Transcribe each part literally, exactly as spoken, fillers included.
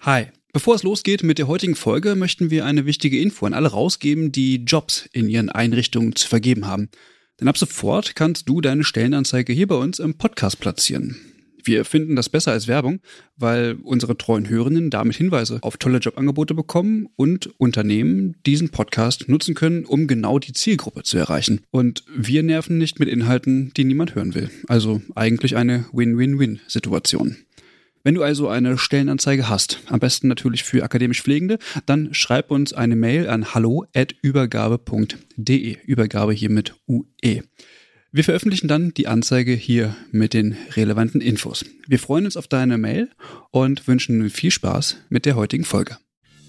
Hi. Bevor es losgeht mit der heutigen Folge, möchten wir eine wichtige Info an alle rausgeben, die Jobs in ihren Einrichtungen zu vergeben haben. Denn ab sofort kannst du deine Stellenanzeige hier bei uns im Podcast platzieren. Wir finden das besser als Werbung, weil unsere treuen Hörerinnen damit Hinweise auf tolle Jobangebote bekommen und Unternehmen diesen Podcast nutzen können, um genau die Zielgruppe zu erreichen. Und wir nerven nicht mit Inhalten, die niemand hören will. Also eigentlich eine Win-Win-Win-Situation. Wenn du also eine Stellenanzeige hast, am besten natürlich für akademisch Pflegende, dann schreib uns eine Mail an hallo at übergabe punkt de. Übergabe hier mit U E. Wir veröffentlichen dann die Anzeige hier mit den relevanten Infos. Wir freuen uns auf deine Mail und wünschen nun viel Spaß mit der heutigen Folge.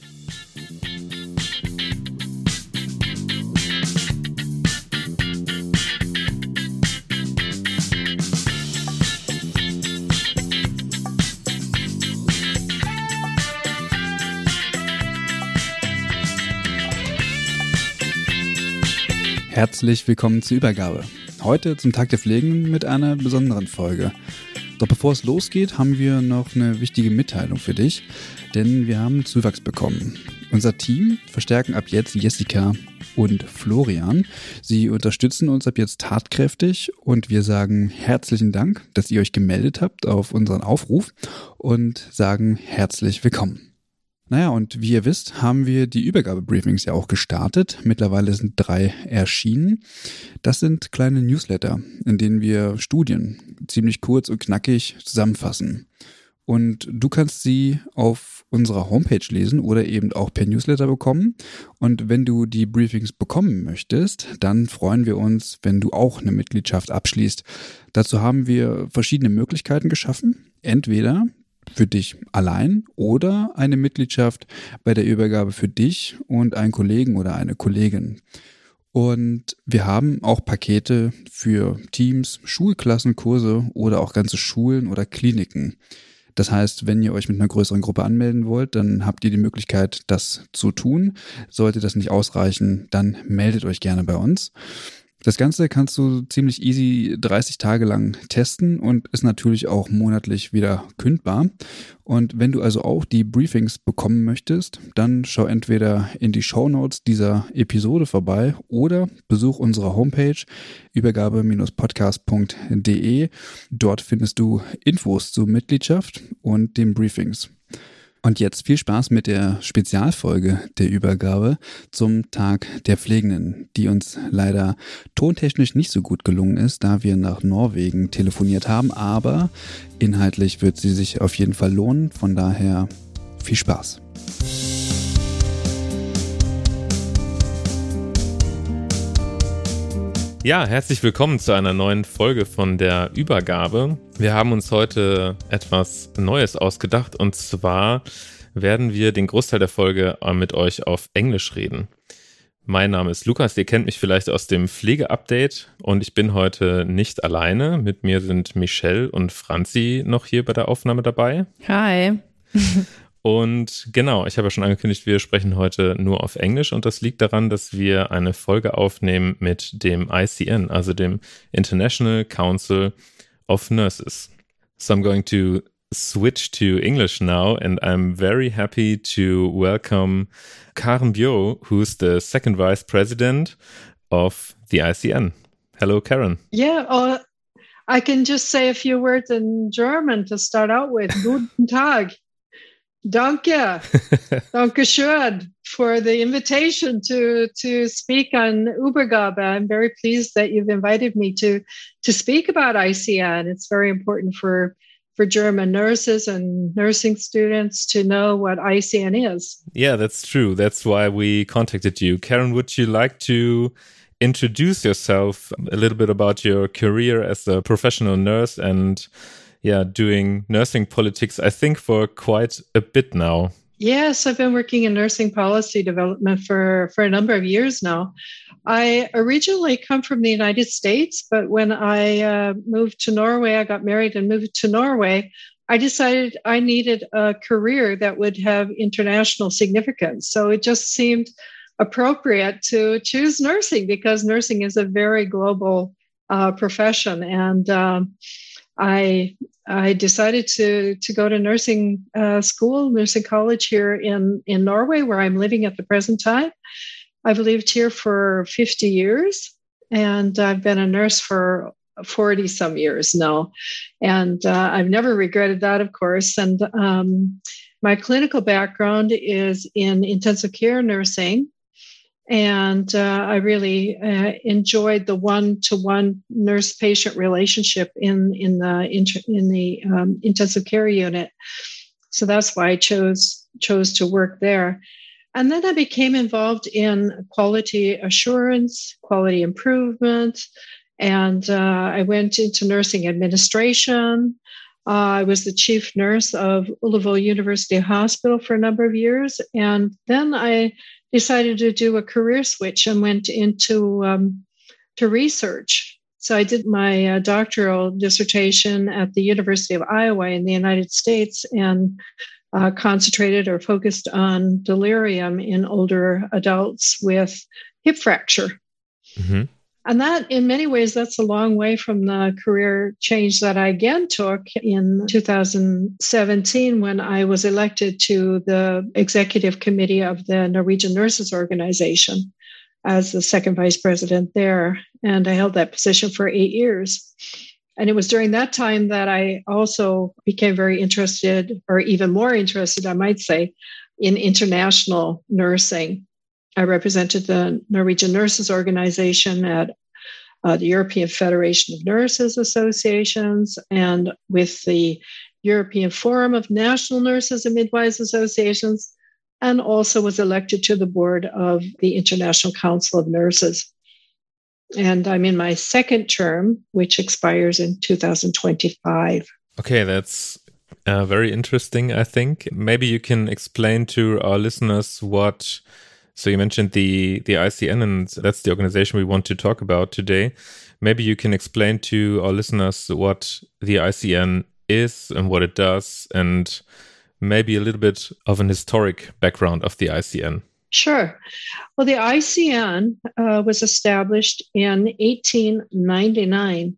Herzlich willkommen zur Übergabe. Heute zum Tag der Pflegenden mit einer besonderen Folge. Doch bevor es losgeht, haben wir noch eine wichtige Mitteilung für dich, denn wir haben Zuwachs bekommen. Unser Team verstärken ab jetzt Jessica und Florian. Sie unterstützen uns ab jetzt tatkräftig und wir sagen herzlichen Dank, dass ihr euch gemeldet habt auf unseren Aufruf und sagen herzlich willkommen. Naja, und wie ihr wisst, haben wir die Übergabebriefings ja auch gestartet. Mittlerweile sind drei erschienen. Das sind kleine Newsletter, in denen wir Studien ziemlich kurz und knackig zusammenfassen. Und du kannst sie auf unserer Homepage lesen oder eben auch per Newsletter bekommen. Und wenn du die Briefings bekommen möchtest, dann freuen wir uns, wenn du auch eine Mitgliedschaft abschließt. Dazu haben wir verschiedene Möglichkeiten geschaffen. Entweder für dich allein oder eine Mitgliedschaft bei der Übergabe für dich und einen Kollegen oder eine Kollegin. Und wir haben auch Pakete für Teams, Schulklassen, Kurse oder auch ganze Schulen oder Kliniken. Das heißt, wenn ihr euch mit einer größeren Gruppe anmelden wollt, dann habt ihr die Möglichkeit, das zu tun. Sollte das nicht ausreichen, dann meldet euch gerne bei uns. Das Ganze kannst du ziemlich easy dreißig Tage lang testen und ist natürlich auch monatlich wieder kündbar. Und wenn du also auch die Briefings bekommen möchtest, dann schau entweder in die Shownotes dieser Episode vorbei oder besuch unsere Homepage übergabe Bindestrich podcast punkt de. Dort findest du Infos zur Mitgliedschaft und den Briefings. Und jetzt viel Spaß mit der Spezialfolge der Übergabe zum Tag der Pflegenden, die uns leider tontechnisch nicht so gut gelungen ist, da wir nach Norwegen telefoniert haben, aber inhaltlich wird sie sich auf jeden Fall lohnen, von daher viel Spaß. Ja, herzlich willkommen zu einer neuen Folge von der Übergabe. Wir haben uns heute etwas Neues ausgedacht und zwar werden wir den Großteil der Folge mit euch auf Englisch reden. Mein Name ist Lukas, ihr kennt mich vielleicht aus dem Pflege-Update und ich bin heute nicht alleine. Mit mir sind Michelle und Franzi noch hier bei der Aufnahme dabei. Hi. Und genau, ich habe ja schon angekündigt, wir sprechen heute nur auf Englisch und das liegt daran, dass wir eine Folge aufnehmen mit dem I C N, also dem International Council of Nurses. So I'm going to switch to English now and I'm very happy to welcome Karen Bjo, who's the second vice president of the I C N. Hello, Karen. Yeah, uh, I can just say a few words in German to start out with. Guten Tag. Danke, danke schön for the invitation to to speak on Übergabe. I'm very pleased that you've invited me to to speak about I C N. It's very important for for German nurses and nursing students to know what I C N is. Yeah, that's true. That's why we contacted you. Karen, would you like to introduce yourself a little bit about your career as a professional nurse and yeah, doing nursing politics, I think, for quite a bit now. Yes, I've been working in nursing policy development for, for a number of years now. I originally come from the United States, but when I uh, moved to Norway, I got married and moved to Norway, I decided I needed a career that would have international significance. So it just seemed appropriate to choose nursing because nursing is a very global uh, profession. And um, I I decided to to go to nursing uh, school, nursing college here in, in Norway, where I'm living at the present time. I've lived here for fifty years, and I've been a nurse for forty some years now. And uh, I've never regretted that, of course. And um, my clinical background is in intensive care nursing. And uh, I really uh, enjoyed the one-to-one nurse-patient relationship in in the in the um, intensive care unit. So that's why I chose chose to work there. And then I became involved in quality assurance, quality improvement, and uh, I went into nursing administration. Uh, I was the chief nurse of Ullevål University Hospital for a number of years, and then I decided to do a career switch and went into um, to research. So I did my uh, doctoral dissertation at the University of Iowa in the United States and uh, concentrated or focused on delirium in older adults with hip fracture. Mm-hmm. And that, in many ways, that's a long way from the career change that I again took in two thousand seventeen when I was elected to the executive committee of the Norwegian Nurses Organization as the second vice president there. And I held that position for eight years. And it was during that time that I also became very interested, or even more interested, I might say, in international nursing. I represented the Norwegian Nurses Organization at uh, the European Federation of Nurses Associations and with the European Forum of National Nurses and Midwives Associations, and also was elected to the board of the International Council of Nurses. And I'm in my second term, which expires in two thousand twenty-five. Okay, that's uh, very interesting, I think. Maybe you can explain to our listeners what... So you mentioned the, the I C N, and that's the organization we want to talk about today. Maybe you can explain to our listeners what the I C N is and what it does, and maybe a little bit of an historic background of the I C N. Sure. Well, the I C N uh, was established in eighteen ninety-nine.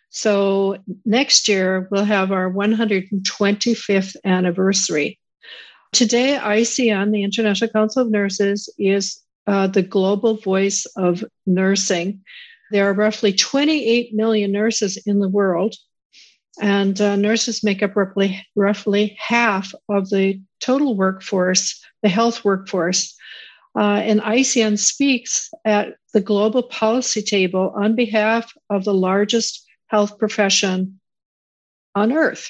So next year, we'll have our one hundred twenty-fifth anniversary. Today, I C N, the International Council of Nurses, is uh, the global voice of nursing. There are roughly twenty-eight million nurses in the world, and uh, nurses make up roughly, roughly half of the total workforce, the health workforce. Uh, and I C N speaks at the global policy table on behalf of the largest health profession on earth.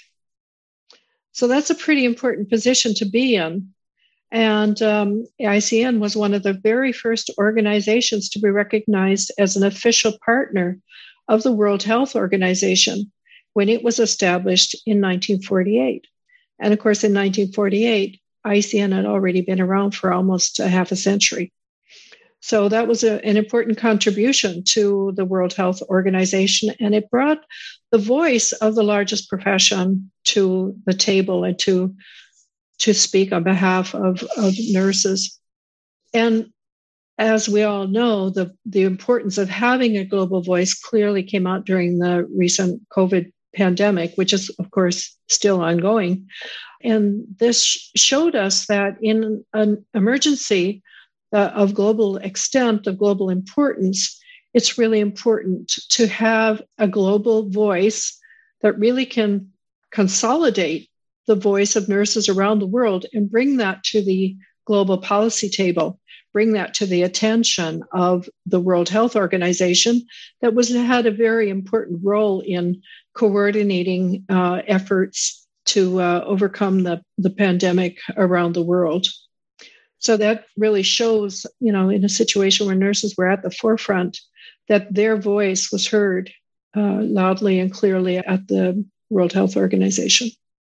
So that's a pretty important position to be in. And um, I C N was one of the very first organizations to be recognized as an official partner of the World Health Organization when it was established in nineteen forty-eight. And of course, in nineteen forty-eight, I C N had already been around for almost a half a century. So that was a, an important contribution to the World Health Organization, and it brought the voice of the largest profession to the table and to, to speak on behalf of, of nurses. And as we all know, the, the importance of having a global voice clearly came out during the recent COVID pandemic, which is, of course, still ongoing. And this showed us that in an emergency uh, of global extent, of global importance, it's really important to have a global voice that really can consolidate the voice of nurses around the world and bring that to the global policy table, bring that to the attention of the World Health Organization that was had a very important role in coordinating uh, efforts to uh, overcome the, the pandemic around the world. So that really shows, you know, in a situation where nurses were at the forefront, that their voice was heard uh, loudly and clearly at the World Health Organization.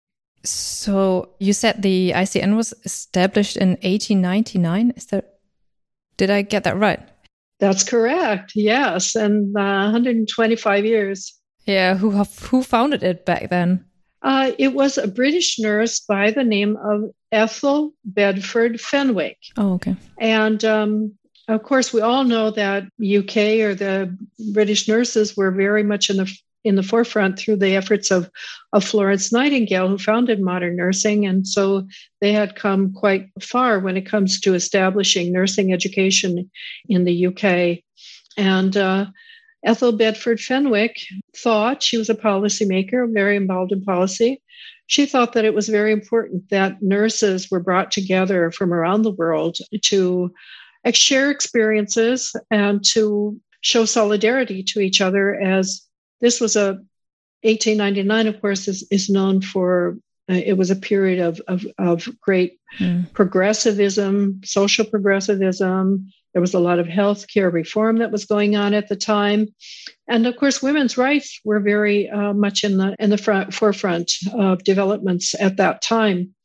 So you said the I C N was established in eighteen ninety-nine. Is that, did I get that right? That's correct. Yes, and uh, one hundred twenty-five years. Yeah, who who founded it back then? Uh, it was a British nurse by the name of Ethel Bedford Fenwick. Oh, okay. And um, of course, we all know that U K or the British nurses were very much in the in the forefront through the efforts of, of Florence Nightingale, who founded modern nursing. And so they had come quite far when it comes to establishing nursing education in the U K. And uh, Ethel Bedford Fenwick thought, she was a policymaker, very involved in policy. She thought that it was very important that nurses were brought together from around the world to share experiences and to show solidarity to each other, as this was a eighteen ninety-nine, of course, is, is known for, uh, it was a period of, of, of great mm. progressivism, social progressivism. There was a lot of healthcare reform that was going on at the time. And of course, women's rights were very uh, much in the in the front, forefront of developments at that time.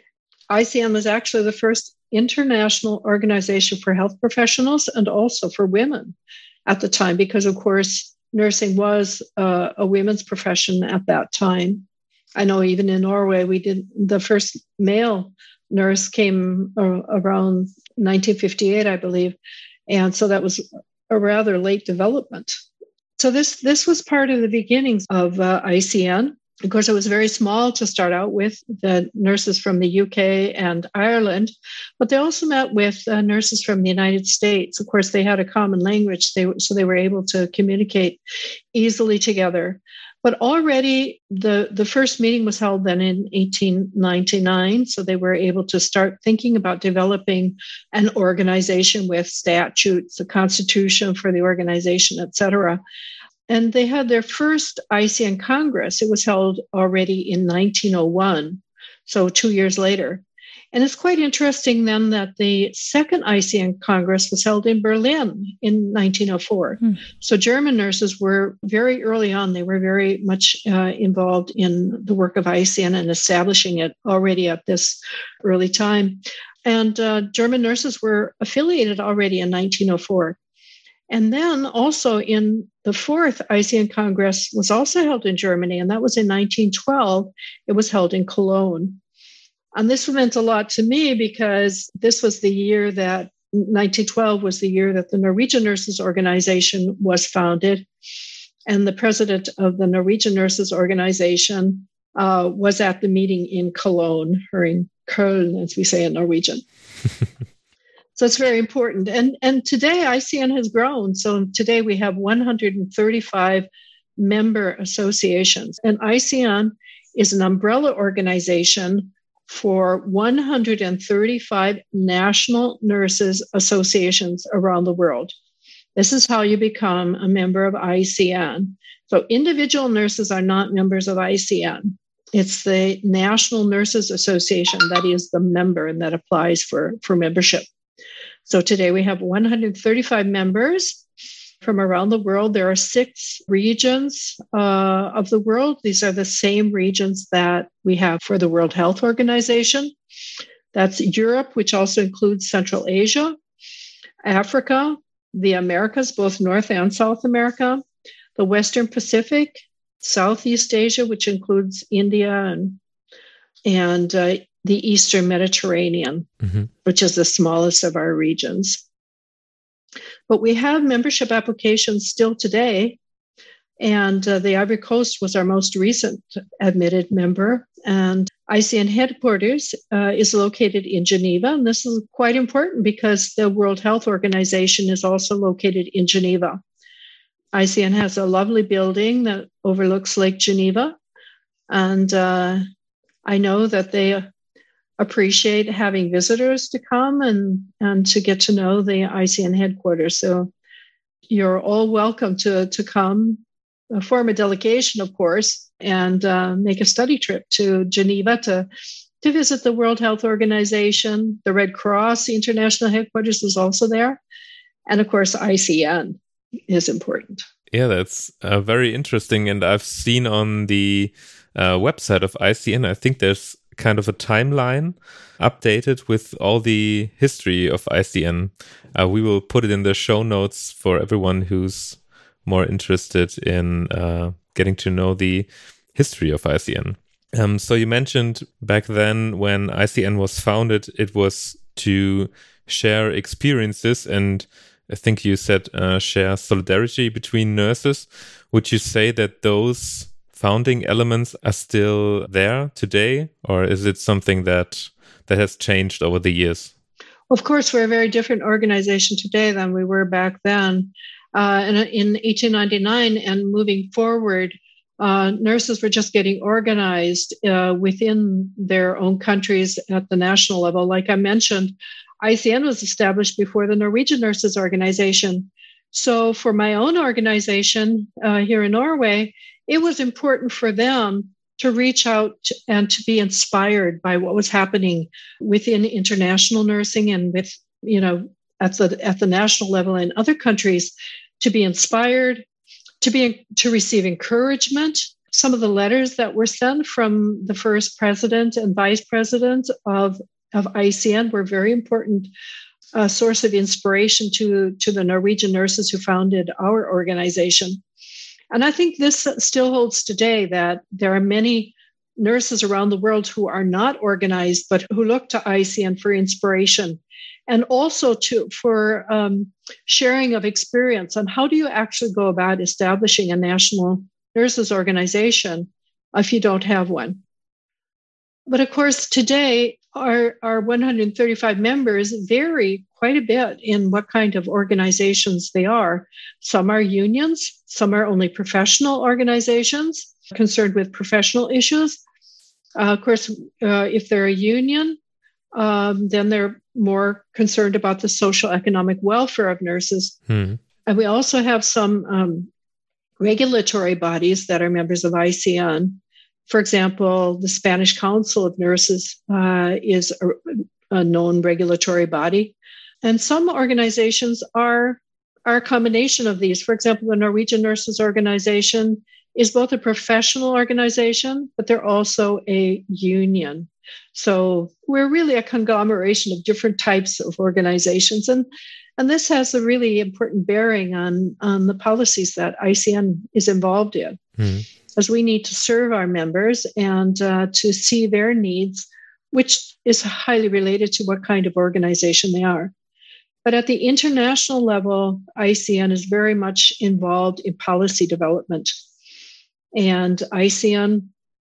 I C N was actually the first international organization for health professionals and also for women at the time, because of course, nursing was uh, a women's profession at that time. I know even in Norway, we did the first male nurse came uh, around nineteen fifty-eight, I believe. And so that was a rather late development. So this, this was part of the beginnings of uh, I C N. Of course, it was very small to start out with, the nurses from the U K and Ireland, but they also met with uh, nurses from the United States. Of course, they had a common language, they, so they were able to communicate easily together. But already the, the first meeting was held then in eighteen ninety-nine, so they were able to start thinking about developing an organization with statutes, a constitution for the organization, et cetera. And they had their first I C N Congress. It was held already in nineteen oh one, so two years later. And it's quite interesting then that the second I C N Congress was held in Berlin in nineteen oh four. Hmm. So German nurses were very early on, they were very much uh, involved in the work of I C N and establishing it already at this early time. And uh, German nurses were affiliated already in nineteen oh four. And then also in the fourth I C N Congress was also held in Germany, and that was in nineteen twelve. It was held in Cologne. And this meant a lot to me because this was the year that, nineteen twelve was the year that the Norwegian Nurses Organization was founded. And the president of the Norwegian Nurses Organization uh, was at the meeting in Cologne, or in Köln, as we say in Norwegian. So it's very important. And, and today I C N has grown. So today we have one hundred thirty-five member associations. And I C N is an umbrella organization for one hundred thirty-five national nurses associations around the world. This is how you become a member of I C N. So individual nurses are not members of I C N. It's the National Nurses Association that is the member and that applies for, for membership. So today we have one hundred thirty-five members from around the world. There are six regions uh, of the world. These are the same regions that we have for the World Health Organization. That's Europe, which also includes Central Asia, Africa, the Americas, both North and South America, the Western Pacific, Southeast Asia, which includes India and, and uh, the Eastern Mediterranean, mm-hmm. which is the smallest of our regions. But we have membership applications still today. And uh, the Ivory Coast was our most recent admitted member. And I C N headquarters uh, is located in Geneva. And this is quite important because the World Health Organization is also located in Geneva. I C N has a lovely building that overlooks Lake Geneva. And uh, I know that they appreciate having visitors to come and, and to get to know the I C N headquarters. So you're all welcome to, to come, uh, form a delegation, of course, and uh, make a study trip to Geneva to, to visit the World Health Organization. The Red Cross, the international headquarters, is also there. And of course, I C N is important. Yeah, that's uh, very interesting. And I've seen on the uh, website of I C N, I think there's kind of a timeline updated with all the history of I C N. Uh, we will put it in the show notes for everyone who's more interested in uh, getting to know the history of I C N. Um, so you mentioned back then when I C N was founded, it was to share experiences and I think you said uh, share solidarity between nurses. Would you say that those founding elements are still there today, or is it something that that has changed over the years? Of course, we're a very different organization today than we were back then. Uh, and in eighteen ninety-nine and moving forward, uh, nurses were just getting organized uh, within their own countries at the national level. Like I mentioned, I C N was established before the Norwegian Nurses Organization. So for my own organization uh, here in Norway, it was important for them to reach out and to be inspired by what was happening within international nursing and with, you know, at the at the national level in other countries, to be inspired, to be to receive encouragement. Some of the letters that were sent from the first president and vice president of, of I C N were very important uh, source of inspiration to, to the Norwegian nurses who founded our organization. And I think this still holds today, that there are many nurses around the world who are not organized, but who look to I C N for inspiration and also to for um, sharing of experience on how do you actually go about establishing a national nurses organization if you don't have one. But of course, today, our, our one hundred thirty-five members vary quite a bit in what kind of organizations they are. Some are unions, some are only professional organizations concerned with professional issues. Uh, of course, uh, if they're a union, um, then they're more concerned about the social economic welfare of nurses. Hmm. And we also have some um, regulatory bodies that are members of I C N. For example, the Spanish Council of Nurses uh, is a, a known regulatory body. And some organizations are, are a combination of these. For example, the Norwegian Nurses Organization is both a professional organization, but they're also a union. So we're really a conglomeration of different types of organizations. And, and this has a really important bearing on, on the policies that I C N is involved in. Mm. As we need to serve our members and uh, to see their needs, which is highly related to what kind of organization they are. But at the international level, I C N is very much involved in policy development. And I C N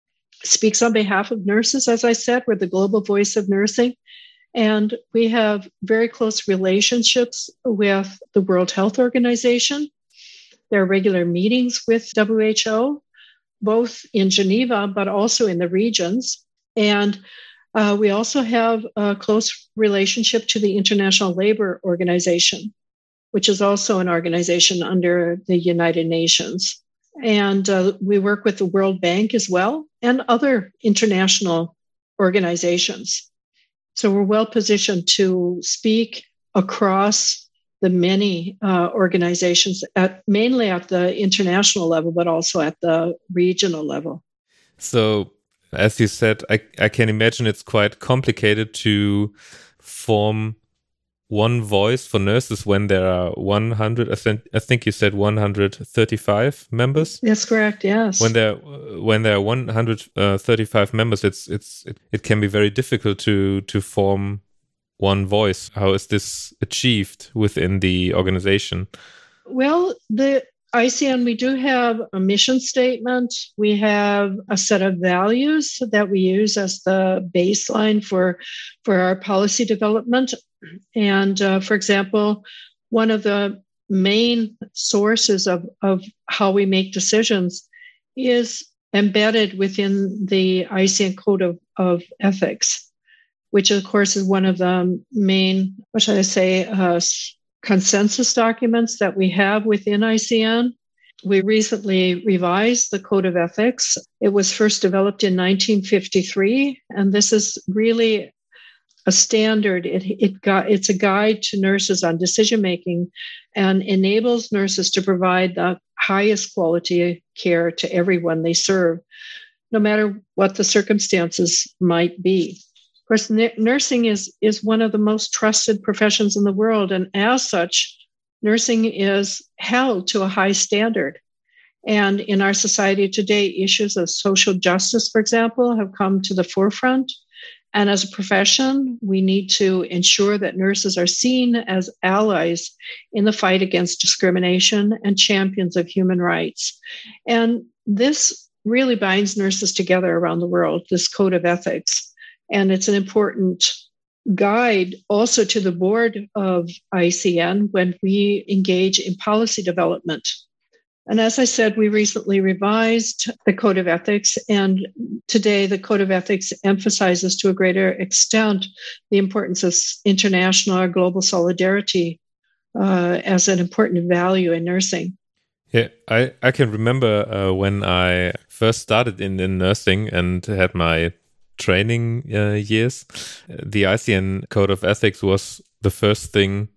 speaks on behalf of nurses, as I said, we're the global voice of nursing. And we have very close relationships with the World Health Organization. There are regular meetings with W H O, both in Geneva, but also in the regions. And uh, we also have a close relationship to the International Labour Organization, which is also an organization under the United Nations. And uh, we work with the World Bank as well and other international organizations. So we're well positioned to speak across the many uh, organizations, at, mainly at the international level, but also at the regional level. So, as you said, I, I can imagine it's quite complicated to form one voice for nurses when there are one hundred, I think, I think you said one hundred thirty-five members. That's correct, yes. When there when there are one hundred thirty-five members, it's it's it, it can be very difficult to to form one voice. How is this achieved within the organization? Well, the I C N, we do have a mission statement. We have a set of values that we use as the baseline for, for our policy development. And uh, for example, one of the main sources of, of how we make decisions is embedded within the I C N Code of, of Ethics, which of course is one of the main, what should I say, uh, consensus documents that we have within I C N. We recently revised the Code of Ethics. It was first developed in nineteen fifty-three, and this is really a standard. It, it got, it's a guide to nurses on decision making and enables nurses to provide the highest quality care to everyone they serve, no matter what the circumstances might be. Of course, n- nursing is, is one of the most trusted professions in the world. And as such, nursing is held to a high standard. And in our society today, issues of social justice, for example, have come to the forefront. And as a profession, we need to ensure that nurses are seen as allies in the fight against discrimination and champions of human rights. And this really binds nurses together around the world, this code of ethics. And it's an important guide also to the board of I C N when we engage in policy development. And as I said, we recently revised the Code of Ethics, and today the Code of Ethics emphasizes to a greater extent the importance of international or global solidarity uh, as an important value in nursing. Yeah, I, I can remember uh, when I first started in, in nursing and had my training uh, years, the I C N Code of Ethics was the first thing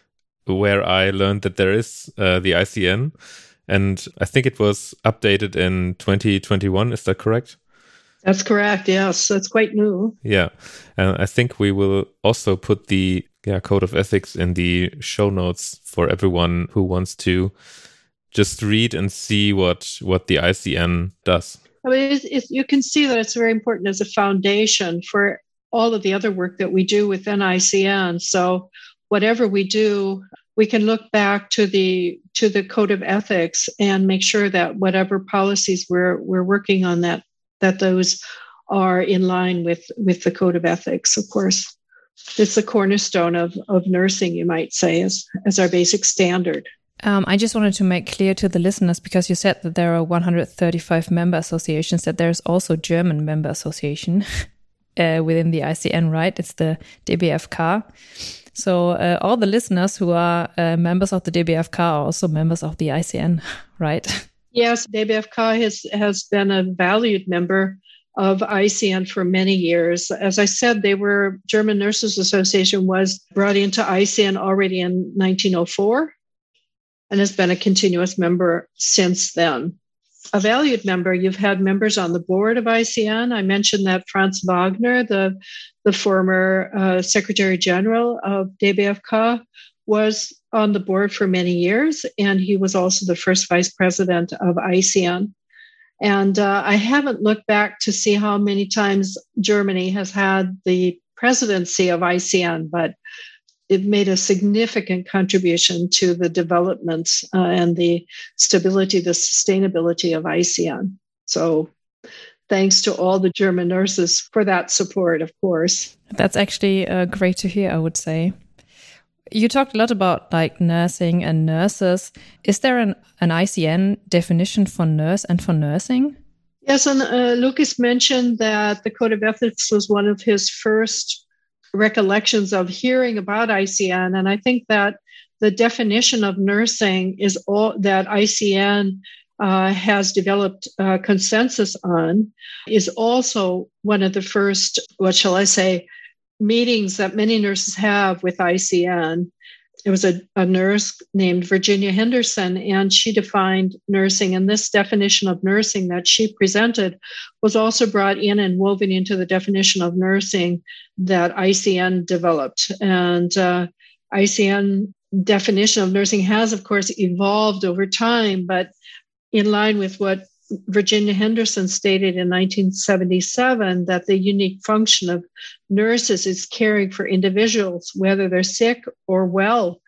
where I learned that there is uh, the I C N. And I think it was updated in twenty twenty-one. Is that correct? That's correct. Yes, that's quite new. Yeah. And I think we will also put the yeah, Code of Ethics in the show notes for everyone who wants to just read and see what, what the I C N does. I mean, it's, it's, you can see that it's very important as a foundation for all of the other work that we do within I C N. So whatever we do, we can look back to the to the Code of Ethics and make sure that whatever policies we're we're working on, that that those are in line with, with the Code of Ethics. Of course, it's the cornerstone of, of nursing, you might say, as, as our basic standard. Um, I just wanted to make clear to the listeners, because you said that there are one hundred thirty-five member associations, that there's also German member association uh, within the I C N, right? It's the D B F K. So uh, all the listeners who are uh, members of the D B F K are also members of the I C N, right? Yes, D B F K has, has been a valued member of I C N for many years. As I said, they were German Nurses Association was brought into I C N already in nineteen oh four and has been a continuous member since then. A valued member, you've had members on the board of I C N. I mentioned that Franz Wagner, the, the former uh, Secretary General of D B F K, was on the board for many years, and he was also the first vice president of I C N. And uh, I haven't looked back to see how many times Germany has had the presidency of I C N, but it made a significant contribution to the development uh, and the stability, the sustainability of I C N. So thanks to all the German nurses for that support, of course. That's actually uh, great to hear, I would say. You talked a lot about like nursing and nurses. Is there an, an I C N definition for nurse and for nursing? Yes, and uh, Lucas mentioned that the Code of Ethics was one of his first recollections of hearing about I C N. And I think that the definition of nursing is all that I C N uh, has developed uh, consensus on, is also one of the first, what shall I say, meetings that many nurses have with I C N. It was a, a nurse named Virginia Henderson, and she defined nursing. And this definition of nursing that she presented was also brought in and woven into the definition of nursing that I C N developed. And uh, I C N definition of nursing has, of course, evolved over time, but in line with what Virginia Henderson stated in nineteen seventy-seven, that the unique function of nurses is caring for individuals, whether they're sick or well,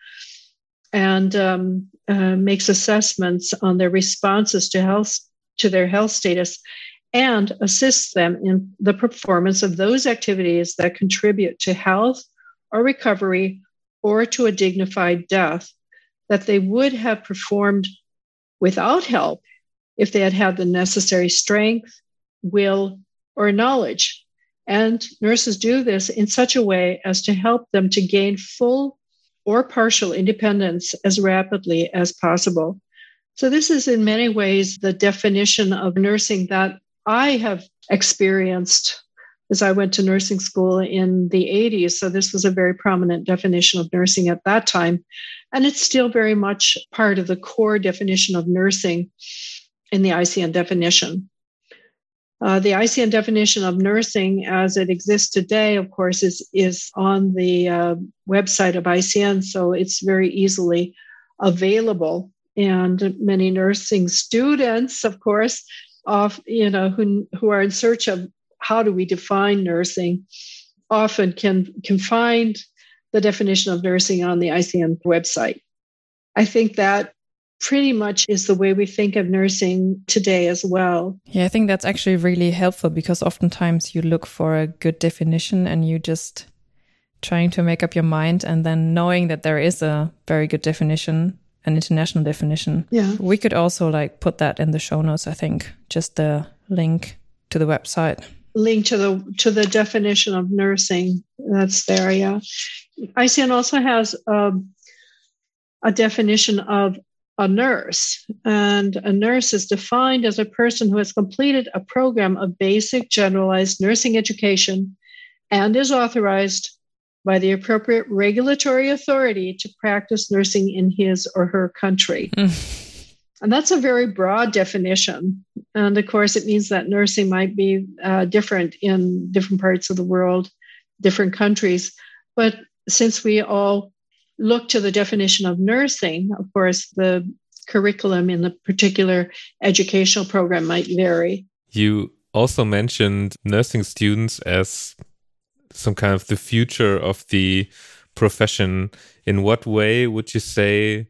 and um, uh, makes assessments on their responses to health, to their health status, and assists them in the performance of those activities that contribute to health or recovery or to a dignified death that they would have performed without help if they had had the necessary strength, will, or knowledge. And nurses do this in such a way as to help them to gain full or partial independence as rapidly as possible. So this is in many ways the definition of nursing that I have experienced as I went to nursing school in the eighties. So this was a very prominent definition of nursing at that time. And it's still very much part of the core definition of nursing in the I C N definition. Uh, the I C N definition of nursing as it exists today, of course, is, is on the uh, website of I C N, so it's very easily available. And many nursing students, of course, of, you know, who, who are in search of how do we define nursing, often can, can find the definition of nursing on the I C N website. I think that pretty much is the way we think of nursing today as well. Yeah, I think that's actually really helpful because oftentimes you look for a good definition and you just trying to make up your mind, and then knowing that there is a very good definition, an international definition. Yeah. We could also like put that in the show notes, I think, just the link to the website. Link to the to the definition of nursing. That's there, yeah. I C N also has um, a definition of a nurse. And a nurse is defined as a person who has completed a program of basic generalized nursing education and is authorized by the appropriate regulatory authority to practice nursing in his or her country. Mm. And that's a very broad definition. And of course, it means that nursing might be uh, different in different parts of the world, different countries. But since we all look to the definition of nursing, of course, the curriculum in the particular educational program might vary. You also mentioned nursing students as some kind of the future of the profession. In what way would you say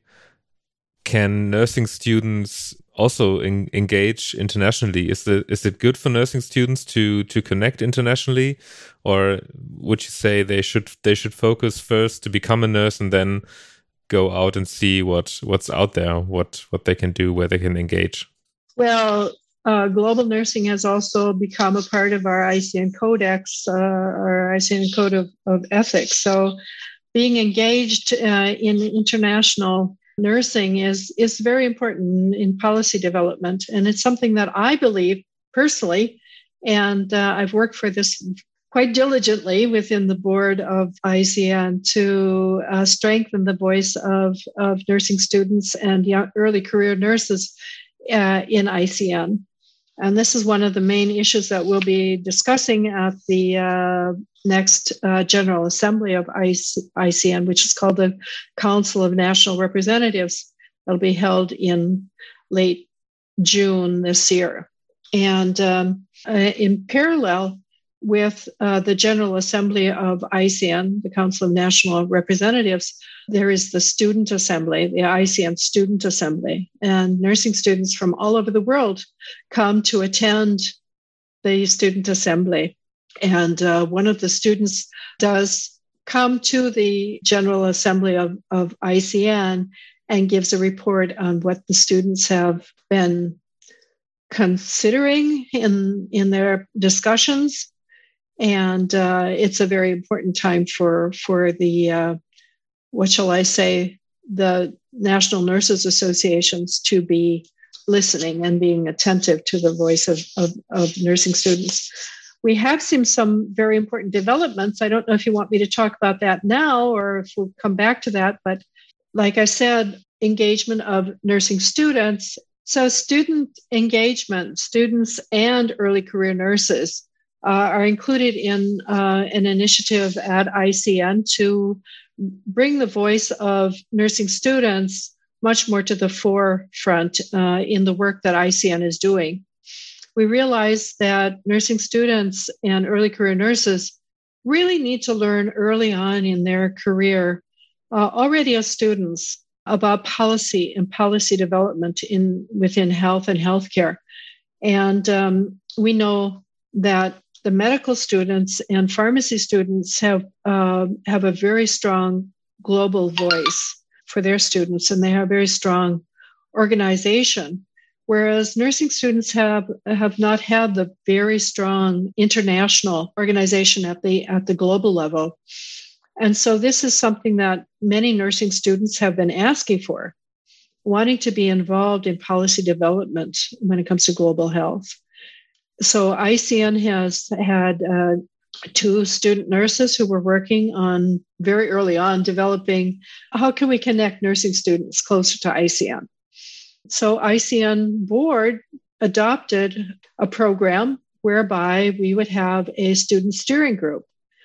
can nursing students also in, engage internationally? Is it is it good for nursing students to to connect internationally, or would you say they should they should focus first to become a nurse and then go out and see what what's out there, what what they can do, where they can engage? Well, Uh, global nursing has also become a part of our I C N Codex, uh, our I C N Code of, of Ethics. So being engaged uh, in international nursing is, is very important in policy development. And it's something that I believe personally, and uh, I've worked for this quite diligently within the board of I C N to uh, strengthen the voice of, of nursing students and young, early career nurses uh, in I C N. And this is one of the main issues that we'll be discussing at the uh, next uh, General Assembly of I C N, which is called the Council of National Representatives. It'll be held in late June this year. And um, uh, in parallel with uh, the General Assembly of I C N, the Council of National Representatives, there is the Student Assembly, the I C N Student Assembly. And nursing students from all over the world come to attend the Student Assembly. And uh, one of the students does come to the General Assembly of, of I C N and gives a report on what the students have been considering in, in their discussions. And uh, it's a very important time for, for the, uh, what shall I say, the National Nurses Associations to be listening and being attentive to the voice of, of, of nursing students. We have seen some very important developments. I don't know if you want me to talk about that now or if we'll come back to that. But like I said, engagement of nursing students. So student engagement, students and early career nurses Uh, are included in uh, an initiative at I C N to bring the voice of nursing students much more to the forefront uh, in the work that I C N is doing. We realize that nursing students and early career nurses really need to learn early on in their career, uh, already as students, about policy and policy development in within health and healthcare. And um, we know that the medical students and pharmacy students have uh, have a very strong global voice for their students, and they have very strong organization, whereas nursing students have have not had the very strong international organization at the at the global level. And so this is something that many nursing students have been asking for, wanting to be involved in policy development when it comes to global health. So I C N has had uh, two student nurses who were working on very early on developing how can we connect nursing students closer to I C N. So I C N board adopted a program whereby we would have a student steering group.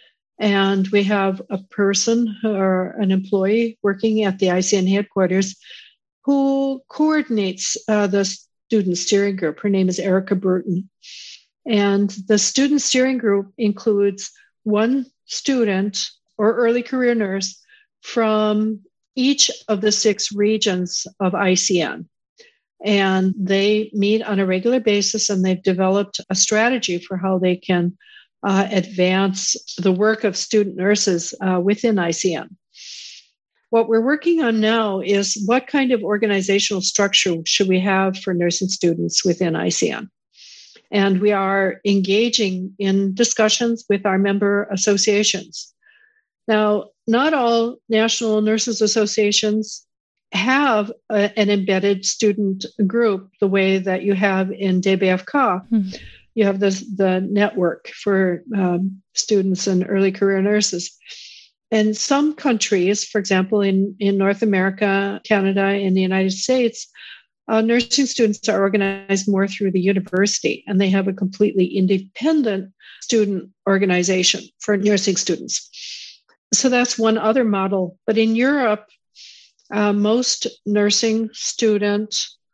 And we have a person or an employee working at the I C N headquarters who coordinates uh, the student steering group. Her name is Erica Burton. And the student steering group includes one student or early career nurse from each of the six regions of I C N. And they meet on a regular basis, and they've developed a strategy for how they can uh, advance the work of student nurses uh, within I C N. What we're working on now is what kind of organizational structure should we have for nursing students within I C N? And we are engaging in discussions with our member associations. Now, not all national nurses associations have a, an embedded student group the way that you have in D B F C A. Hmm. You have the, the network for um, students and early career nurses. And some countries, for example, in, in North America, Canada, and the United States, uh, nursing students are organized more through the university, and they have a completely independent student organization for nursing students. So that's one other model. But in Europe, uh, most nursing student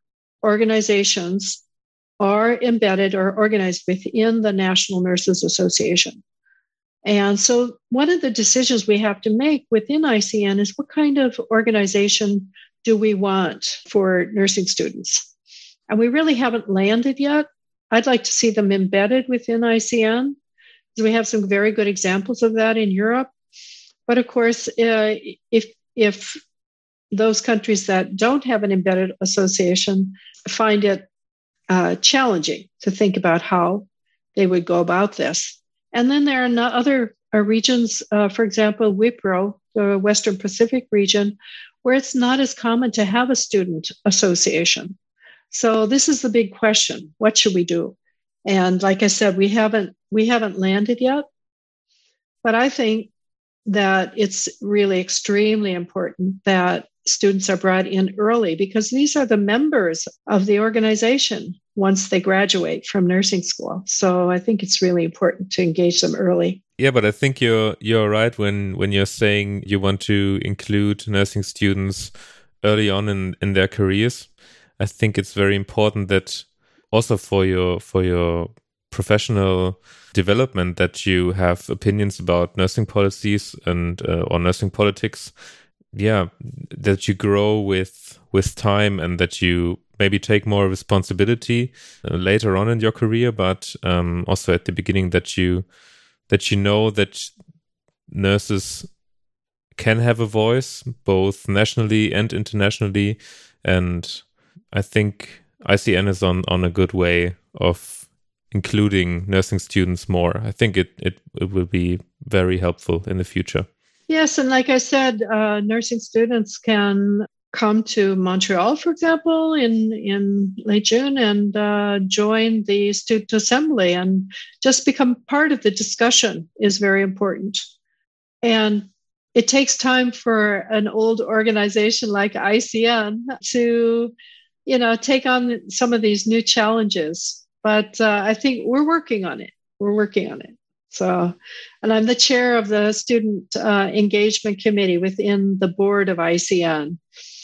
organizations are embedded or organized within the National Nurses Association. And so one of the decisions we have to make within I C N is what kind of organization do we want for nursing students? And we really haven't landed yet. I'd like to see them embedded within I C N, because we have some very good examples of that in Europe. But of course, uh, if if those countries that don't have an embedded association find it uh, challenging to think about how they would go about this. And then there are no other uh, regions, uh, for example, WIPRO, the Western Pacific region, where it's not as common to have a student association. So this is the big question. What should we do? And like I said, we haven't we haven't landed yet. But I think that it's really extremely important that students are brought in early, because these are the members of the organization once they graduate from nursing school. So I think it's really important to engage them early. Yeah, but I think you're you're right when, when you're saying you want to include nursing students early on in, in their careers. I think it's very important that also for your for your professional development that you have opinions about nursing policies and uh, or nursing politics. Yeah, that you grow with with time, and that you maybe take more responsibility uh, later on in your career, but um, also at the beginning that you that you know that nurses can have a voice both nationally and internationally. And I think I C N is on, on a good way of including nursing students more. I think it, it, it will be very helpful in the future. Yes, and like I said, uh, nursing students can come to Montreal, for example, in, in late June and uh, join the student assembly, and just become part of the discussion is very important. And it takes time for an old organization like I C N to, you know, take on some of these new challenges. But uh, I think we're working on it. We're working on it. So, and I'm the chair of the Student uh, Engagement Committee within the board of I C N.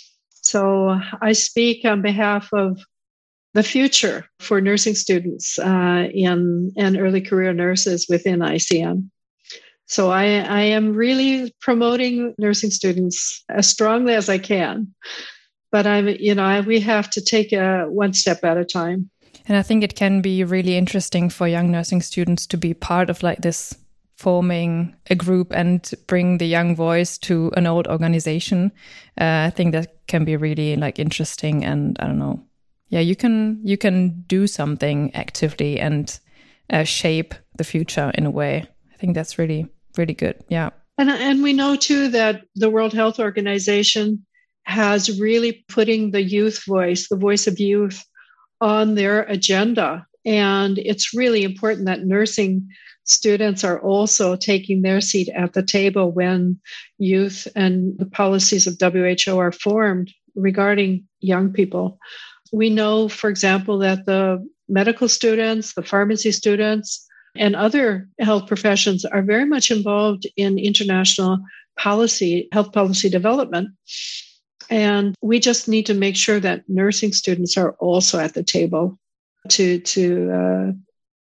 So I speak on behalf of the future for nursing students uh, in, and early career nurses within I C N. So I, I am really promoting nursing students as strongly as I can. But I'm, you know, I, we have to take a one step at a time. And I think it can be really interesting for young nursing students to be part of like this, forming a group and bring the young voice to an old organization. Uh, I think that can be really like interesting, and I don't know. Yeah, you can you can do something actively and uh, shape the future in a way. I think that's really really good. Yeah, and and we know too that the World Health Organization has really putting the youth voice, the voice of youth, on their agenda. And it's really important that nursing students are also taking their seat at the table when youth and the policies of W H O are formed regarding young people. We know, for example, that the medical students, the pharmacy students, and other health professions are very much involved in international policy, health policy development. And we just need to make sure that nursing students are also at the table to, to uh,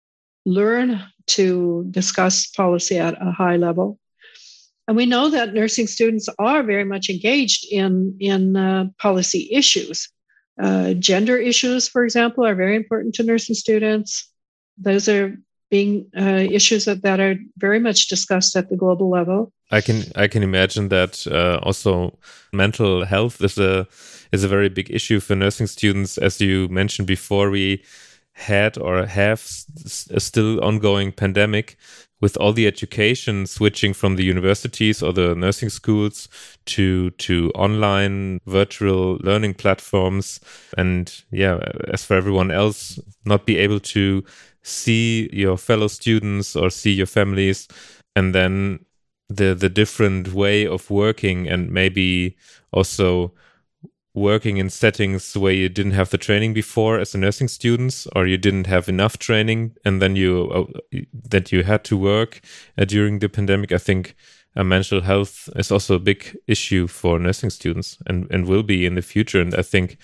learn to discuss policy at a high level. And we know that nursing students are very much engaged in, in uh, policy issues. Uh, gender issues, for example, are very important to nursing students. Those are being uh, issues that, that are very much discussed at the global level. I can I can imagine that uh, also mental health is a is a very big issue for nursing students. As you mentioned before, we had or have s- a still ongoing pandemic, with all the education switching from the universities or the nursing schools to to online virtual learning platforms, and yeah, as for everyone else, not be able to see your fellow students or see your families, and then the the different way of working, and maybe also working in settings where you didn't have the training before as a nursing student, or you didn't have enough training, and then you uh, that you had to work uh, during the pandemic. I think uh, mental health is also a big issue for nursing students, and and will be in the future. And I think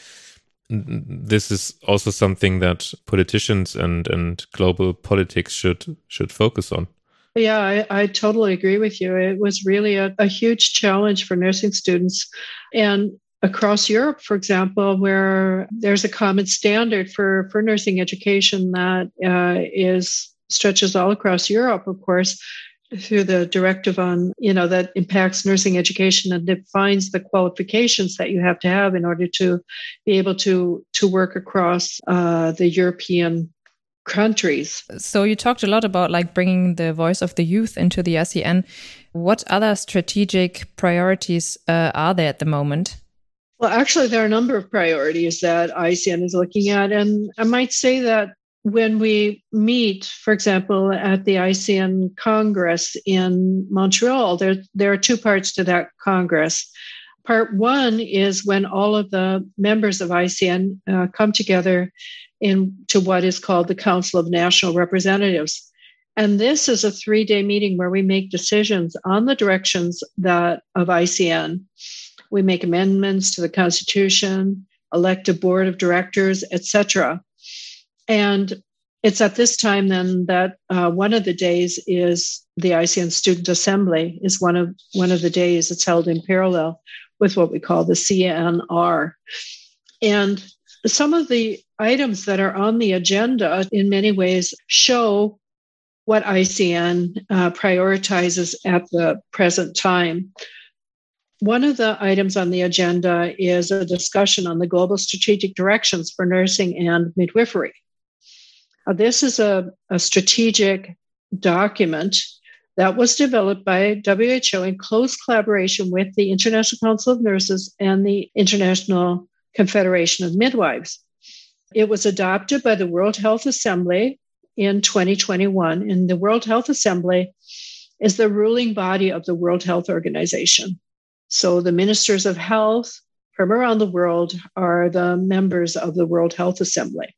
this is also something that politicians and and global politics should should focus on. Yeah, I, I totally agree with you. It was really a, a huge challenge for nursing students. And across Europe, for example, where there's a common standard for, for nursing education that uh, is stretches all across Europe, of course, through the directive on, you know, that impacts nursing education and defines the qualifications that you have to have in order to be able to, to work across uh, the European countries. So you talked a lot about like bringing the voice of the youth into the I C N. What other strategic priorities uh, are there at the moment? Well, actually, there are a number of priorities that I C N is looking at. And I might say that when we meet, for example, at the I C N Congress in Montreal, there, there are two parts to that Congress. Part one is when all of the members of I C N uh, come together into what is called the Council of National Representatives. And this is a three-day meeting where we make decisions on the directions that of I C N. We make amendments to the Constitution, elect a board of directors, et cetera. And it's at this time then that uh, one of the days is the I C N Student Assembly is one of one of the days. It's held in parallel with what we call the C N R. And some of the items that are on the agenda in many ways show what I C N uh, prioritizes at the present time. One of the items on the agenda is a discussion on the global strategic directions for nursing and midwifery. Uh, this is a, a strategic document that was developed by W H O in close collaboration with the International Council of Nurses and the International Confederation of Midwives. It was adopted by the World Health Assembly in twenty twenty-one, and the World Health Assembly is the ruling body of the World Health Organization. So the ministers of health from around the world are the members of the World Health Assembly.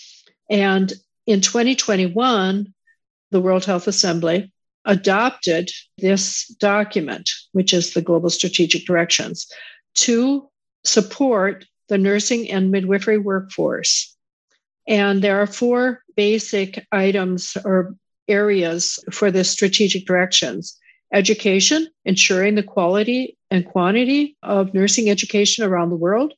And in twenty twenty-one, the World Health Assembly adopted this document, which is the Global Strategic Directions, to support the nursing and midwifery workforce. And there are four basic items or areas for the strategic directions. Education, ensuring the quality and quantity of nursing education around the world.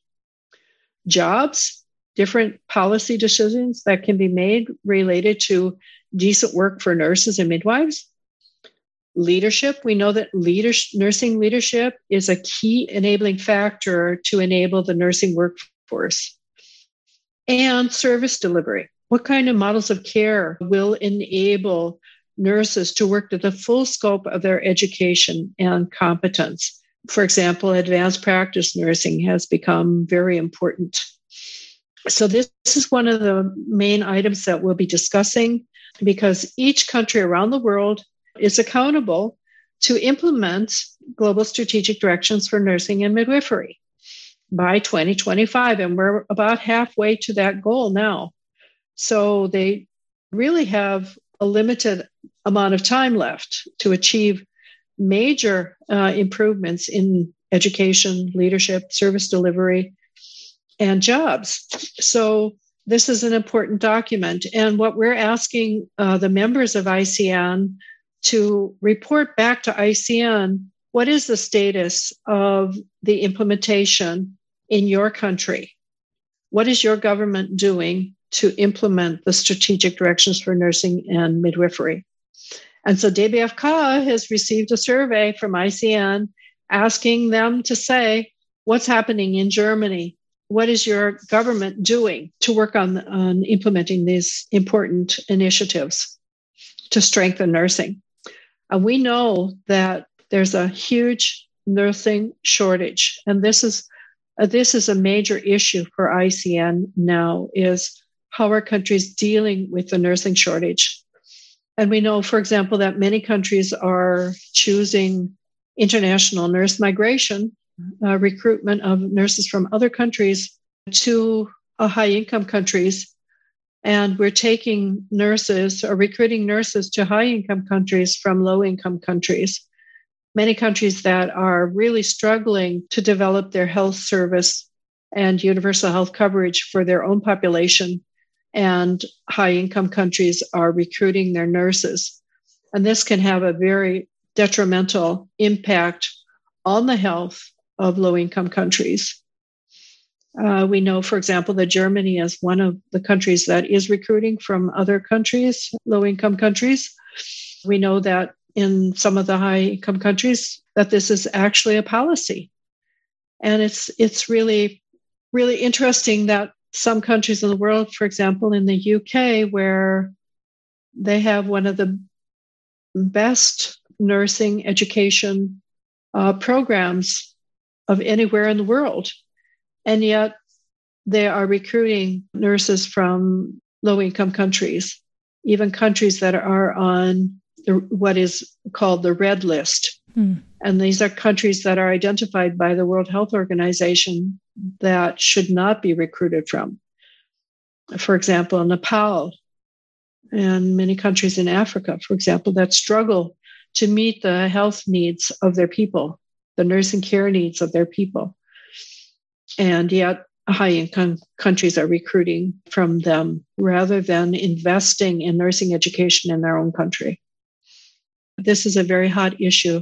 Jobs, different policy decisions that can be made related to decent work for nurses and midwives. Leadership, we know that leadership, nursing leadership is a key enabling factor to enable the nursing workforce. And service delivery. What kind of models of care will enable nurses to work to the full scope of their education and competence? For example, advanced practice nursing has become very important. So this, this is one of the main items that we'll be discussing, because each country around the world is accountable to implement global strategic directions for nursing and midwifery by twenty twenty-five. And we're about halfway to that goal now. So they really have a limited amount of time left to achieve major uh, improvements in education, leadership, service delivery, and jobs. So this is an important document. And what we're asking uh, the members of I C N to report back to I C N, what is the status of the implementation in your country? What is your government doing to implement the strategic directions for nursing and midwifery? And so D B F C A has received a survey from I C N asking them to say, what's happening in Germany? What is your government doing to work on, on implementing these important initiatives to strengthen nursing? And we know that there's a huge nursing shortage. And this is, uh, this is a major issue for I C N now, is how are countries dealing with the nursing shortage? And we know, for example, that many countries are choosing international nurse migration, uh, recruitment of nurses from other countries to uh, high-income countries. And we're taking nurses or recruiting nurses to high-income countries from low-income countries. Many countries that are really struggling to develop their health service and universal health coverage for their own population. And high-income countries are recruiting their nurses. And this can have a very detrimental impact on the health of low-income countries. Uh, we know, for example, that Germany is one of the countries that is recruiting from other countries, low-income countries. We know that in some of the high-income countries that this is actually a policy. And it's it's really, really interesting that some countries in the world, for example, in the U K, where they have one of the best nursing education uh, programs of anywhere in the world, and yet they are recruiting nurses from low-income countries, even countries that are on the, what is called the red list. Hmm. And these are countries that are identified by the World Health Organization that should not be recruited from. For example, Nepal and many countries in Africa, for example, that struggle to meet the health needs of their people, the nursing care needs of their people. And yet high-income countries are recruiting from them rather than investing in nursing education in their own country. This is a very hot issue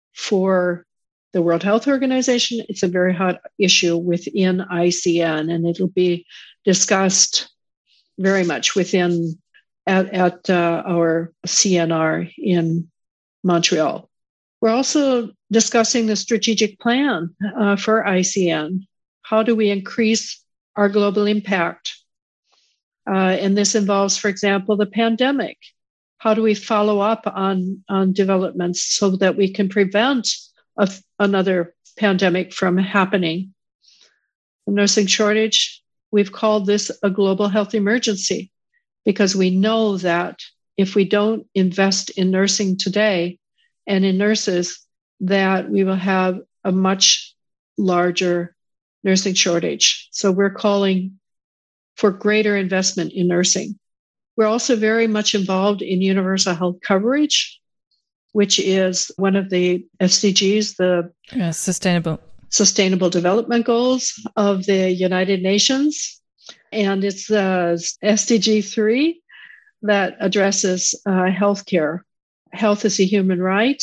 for the World Health Organization. It's a very hot issue within I C N, and it'll be discussed very much within at, at uh, our C N R in Montreal. We're also discussing the strategic plan uh, for I C N. How do we increase our global impact? Uh, and this involves, for example, the pandemic. How do we follow up on, on developments so that we can prevent a, another pandemic from happening? The nursing shortage, we've called this a global health emergency because we know that if we don't invest in nursing today and in nurses, that we will have a much larger nursing shortage. So we're calling for greater investment in nursing. We're also very much involved in universal health coverage, which is one of the S D Gs, the yeah, sustainable sustainable development goals of the United Nations. And it's uh, S D G three that addresses uh, healthcare. Health is a human right.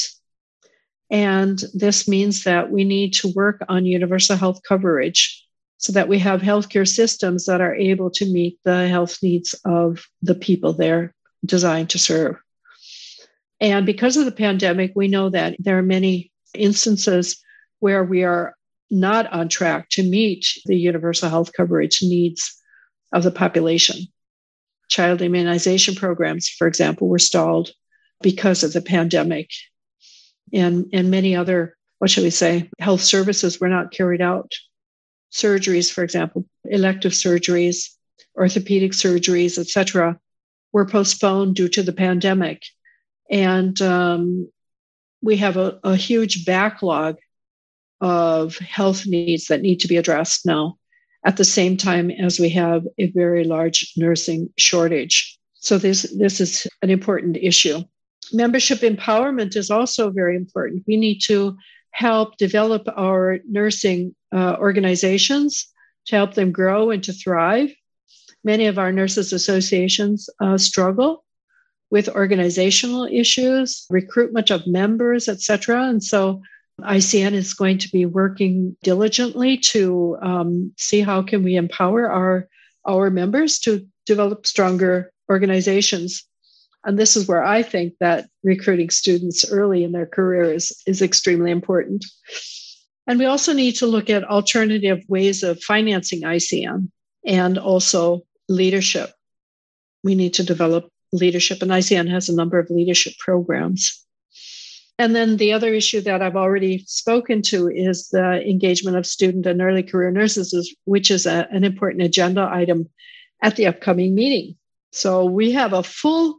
And this means that we need to work on universal health coverage so that we have healthcare systems that are able to meet the health needs of the people they're designed to serve. And because of the pandemic, we know that there are many instances where we are not on track to meet the universal health coverage needs of the population. Child immunization programs, for example, were stalled because of the pandemic. And, and many other, what shall we say, health services were not carried out. Surgeries, for example, elective surgeries, orthopedic surgeries, et cetera, were postponed due to the pandemic. And um, we have a, a huge backlog of health needs that need to be addressed now, at the same time as we have a very large nursing shortage. So this, this is an important issue. Membership empowerment is also very important. We need to help develop our nursing uh, organizations to help them grow and to thrive. many of our nurses associations uh, struggle with organizational issues, recruitment of members, et cetera. And so I C N is going to be working diligently to um, see how can we empower our, our members to develop stronger organizations. And this is where I think that recruiting students early in their career is, is extremely important. And we also need to look at alternative ways of financing I C N and also leadership. We need to develop leadership, and I C N has a number of leadership programs. And then the other issue that I've already spoken to is the engagement of student and early career nurses, which is a, an important agenda item at the upcoming meeting. So we have a full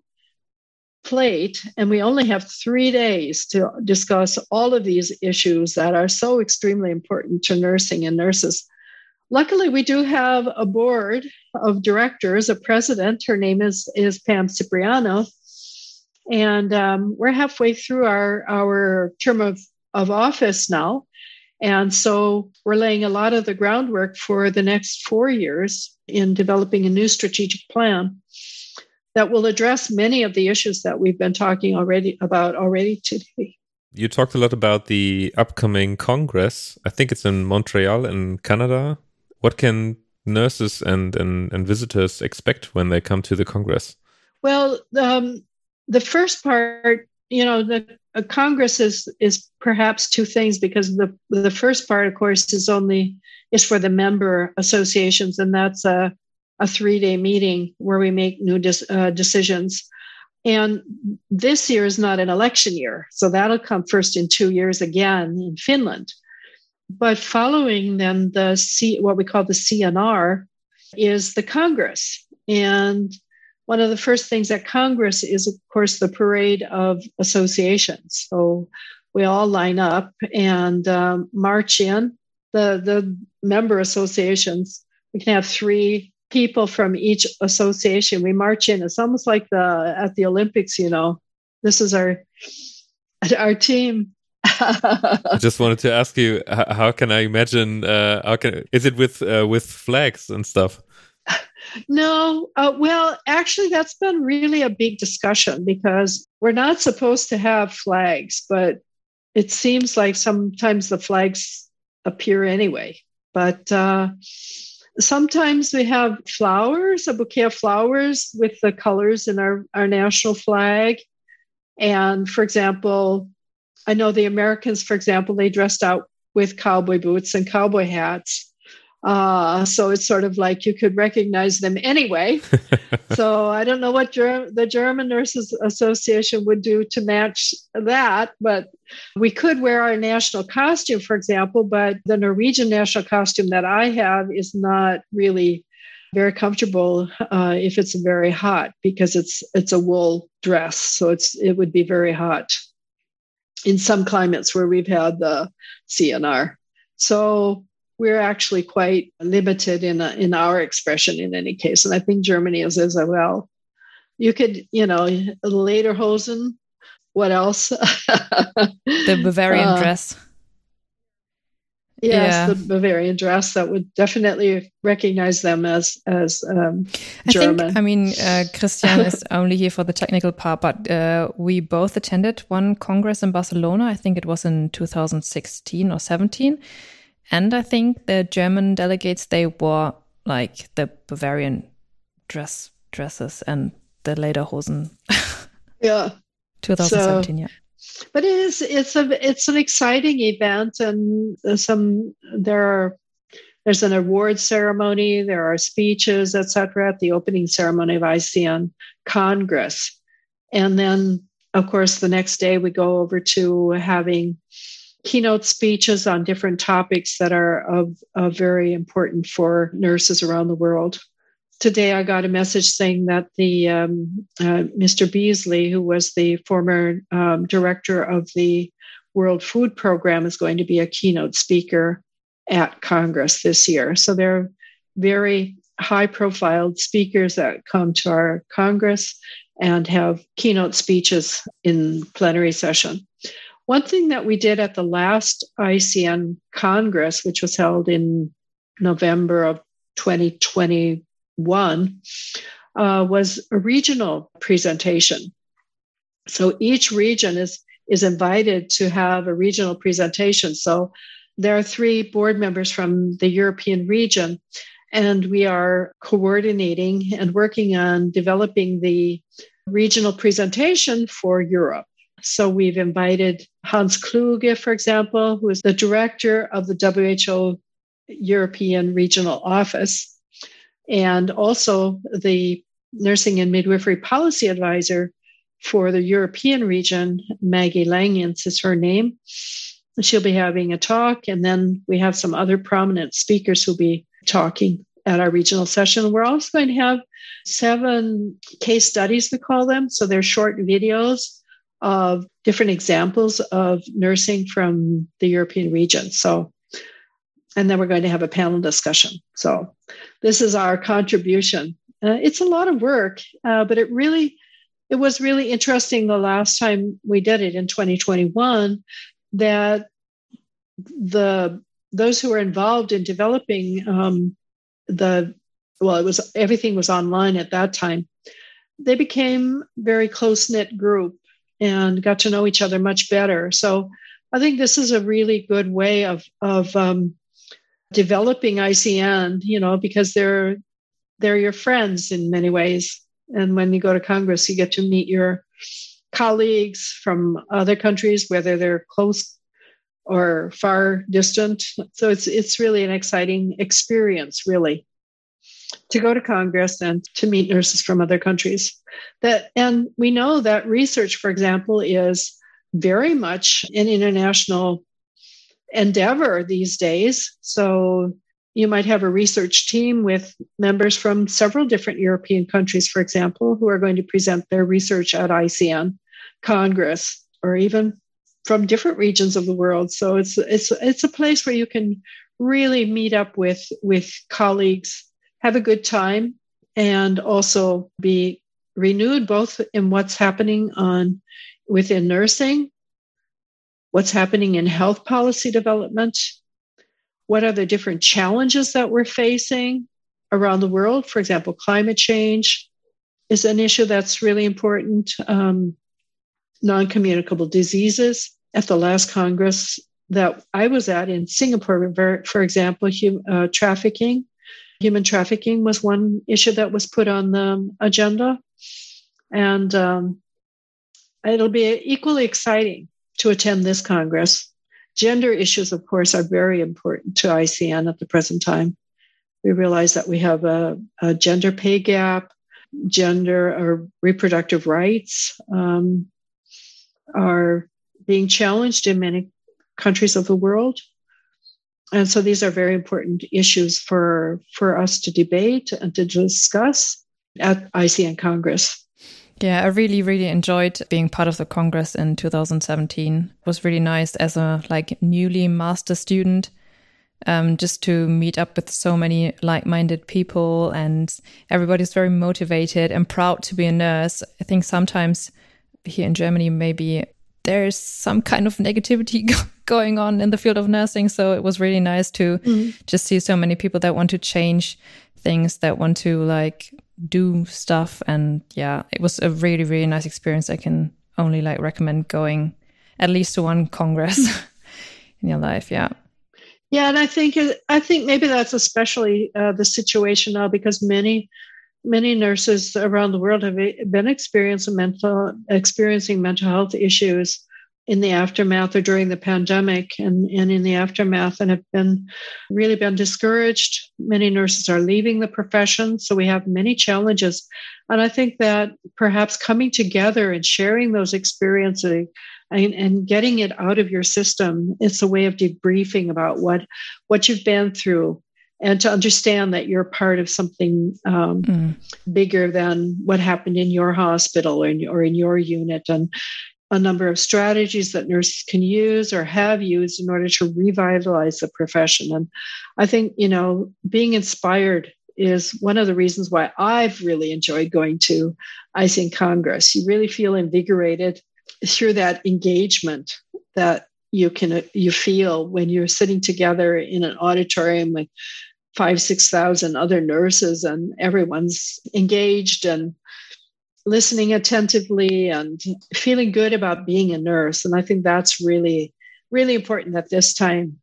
plate, and we only have three days to discuss all of these issues that are so extremely important to nursing and nurses. Luckily, we do have a board of directors, a president. Her name is, is Pam Cipriano. And um, we're halfway through our, our term of, of office now. And so we're laying a lot of the groundwork for the next four years in developing a new strategic plan that will address many of the issues that we've been talking already about already today. You talked a lot about the upcoming Congress. I think it's in Montreal in Canada. What can nurses and, and, and visitors expect when they come to the Congress? Well, um, the first part, you know, the uh, Congress is is perhaps two things, because the the first part, of course, is only is for the member associations, and that's a a three day meeting where we make new dis, uh, decisions. And this year is not an election year, so that'll come first in two years again in Finland. But following then the C, what we call the C N R, is the Congress. And one of the first things at Congress is, of course, the parade of associations. So we all line up and um, march in. The, the member associations, we can have three people from each association. We march in. It's almost like the at the Olympics, you know. This is our our team. I just wanted to ask you, how, how can I imagine? Uh, how can is it with uh, with flags and stuff? No, uh, well, actually, that's been really a big discussion, because we're not supposed to have flags, but it seems like sometimes the flags appear anyway. But uh, sometimes we have flowers, a bouquet of flowers with the colors in our, our national flag. And for example, I know the Americans, for example, they dressed out with cowboy boots and cowboy hats. Uh, so it's sort of like you could recognize them anyway. So I don't know what Ger- the German Nurses Association would do to match that, but we could wear our national costume, for example, but the Norwegian national costume that I have is not really very comfortable uh, if it's very hot, because it's it's a wool dress. So it's it would be very hot in some climates where we've had the C N R. So we're actually quite limited in uh, in our expression in any case. And I think Germany is as well. You could, you know, lederhosen. What else? The Bavarian uh, dress. Yes, yeah. The Bavarian dress. That would definitely recognize them as as um, German. I think, I mean, uh, Christian is only here for the technical part, but uh, we both attended one Congress in Barcelona. I think it was in two thousand sixteen or seventeen. And I think the German delegates, they wore like the Bavarian dress dresses and the lederhosen. Yeah. twenty seventeen, so, yeah. But it is it's a it's an exciting event, and some there are there's an award ceremony, there are speeches, et cetera, at the opening ceremony of I C N Congress. And then, of course, the next day we go over to having keynote speeches on different topics that are of, of very important for nurses around the world. Today, I got a message saying that the um, uh, Mister Beasley, who was the former um, director of the World Food Program, is going to be a keynote speaker at Congress this year. So there are very high-profile speakers that come to our Congress and have keynote speeches in plenary session. One thing that we did at the last I C N Congress, which was held in November of twenty twenty, one uh, was a regional presentation. So each region is, is invited to have a regional presentation. So there are three board members from the European region, and we are coordinating and working on developing the regional presentation for Europe. So we've invited Hans Kluge, for example, who is the director of the W H O European Regional Office, and also the Nursing and Midwifery Policy Advisor for the European region. Maggie Langens is her name. She'll be having a talk, and then we have some other prominent speakers who'll be talking at our regional session. We're also going to have seven case studies, we call them. So they're short videos of different examples of nursing from the European region. So, and then we're going to have a panel discussion. So this is our contribution. Uh, it's a lot of work, uh, but it really, it was really interesting the last time we did it in twenty twenty-one, that the those who were involved in developing um, the, well, it was, everything was online at that time. They became very close-knit group and got to know each other much better. So I think this is a really good way of, of um, developing I C N, you know, because they're, they're your friends in many ways. And when you go to Congress, you get to meet your colleagues from other countries, whether they're close or far distant. So it's it's really an exciting experience, really, to go to Congress and to meet nurses from other countries. That, and we know that research, for example, is very much an international endeavor these days. So you might have a research team with members from several different European countries, for example, who are going to present their research at I C N Congress, or even from different regions of the world. So it's it's it's a place where you can really meet up with, with colleagues, have a good time, and also be renewed both in what's happening on within nursing, what's happening in health policy development, what are the different challenges that we're facing around the world. For example, climate change is an issue that's really important. Um, non-communicable diseases. At the last Congress that I was at in Singapore, for example, hum, uh, trafficking, human trafficking was one issue that was put on the agenda. And um, it'll be equally exciting to attend this Congress. Gender issues, of course, are very important to I C N at the present time. We realize that we have a, a gender pay gap, gender or reproductive rights um, are being challenged in many countries of the world. And so these are very important issues for, for us to debate and to discuss at I C N Congress. Yeah, I really, really enjoyed being part of the Congress in two thousand seventeen. It was really nice as a like newly master student, um, just to meet up with so many like-minded people, and everybody's very motivated and proud to be a nurse. I think sometimes here in Germany, maybe there's some kind of negativity going on in the field of nursing. So it was really nice to mm. just see so many people that want to change things, that want to like do stuff. And yeah, it was a really, really nice experience. I can only like recommend going at least to one Congress in your life. Yeah. Yeah. And I think, I think maybe that's especially uh, the situation now, because many Many nurses around the world have been experiencing mental, experiencing mental health issues in the aftermath or during the pandemic and, and in the aftermath, and have been really been discouraged. Many nurses are leaving the profession. So we have many challenges. And I think that perhaps coming together and sharing those experiences and, and getting it out of your system, it's a way of debriefing about what, what you've been through, and to understand that you're part of something um, mm. bigger than what happened in your hospital or in, or in your unit, and a number of strategies that nurses can use or have used in order to revitalize the profession. And I think, you know, being inspired is one of the reasons why I've really enjoyed going to I C N Congress. You really feel invigorated through that engagement that you can you feel when you're sitting together in an auditorium with five, six thousand other nurses, and everyone's engaged and listening attentively and feeling good about being a nurse. And I think that's really, really important at this time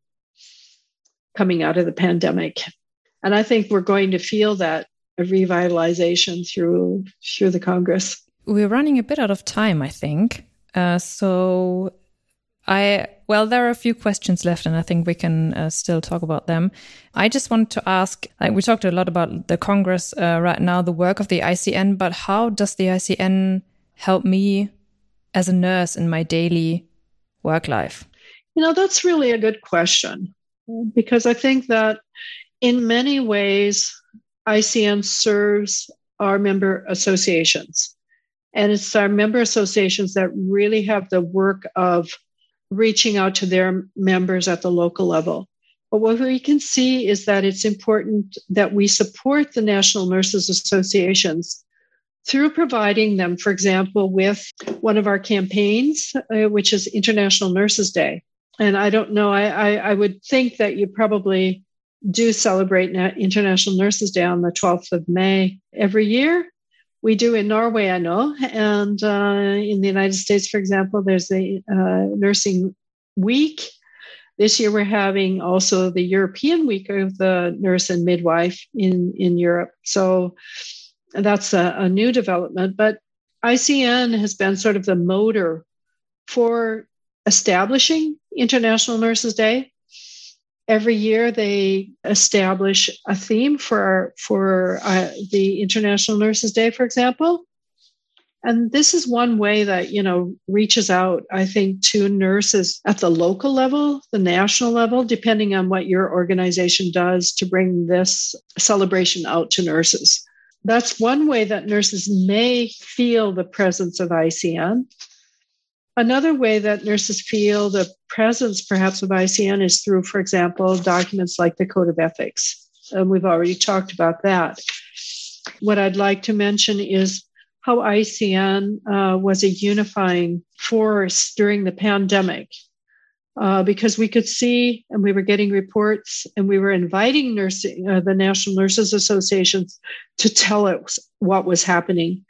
coming out of the pandemic. And I think we're going to feel that revitalization through through the Congress. We're running a bit out of time, I think. Uh, so I, well, there are a few questions left, and I think we can uh, still talk about them. I just wanted to ask, like, we talked a lot about the Congress uh, right now, the work of the I C N, but how does the I C N help me as a nurse in my daily work life? You know, that's really a good question, because I think that in many ways, I C N serves our member associations. And it's our member associations that really have the work of reaching out to their members at the local level. But what we can see is that it's important that we support the National Nurses Associations through providing them, for example, with one of our campaigns, uh, which is International Nurses Day. And I don't know, I, I, I would think that you probably do celebrate International Nurses Day on the twelfth of May every year. We do in Norway, I know. And uh, in the United States, for example, there's the uh, Nursing Week. This year, we're having also the European Week of the Nurse and Midwife in, in Europe. So that's a, a new development. But I C N has been sort of the motor for establishing International Nurses Day. Every year, they establish a theme for, for uh, the International Nurses Day, for example. And this is one way that, you know, reaches out, I think, to nurses at the local level, the national level, depending on what your organization does to bring this celebration out to nurses. That's one way that nurses may feel the presence of I C N. Another way that nurses feel the presence, perhaps, of I C N is through, for example, documents like the Code of Ethics. And we've already talked about that. What I'd like to mention is how I C N uh, was a unifying force during the pandemic, uh, because we could see, and we were getting reports, and we were inviting nursing, uh, the National Nurses Associations to tell us what was happening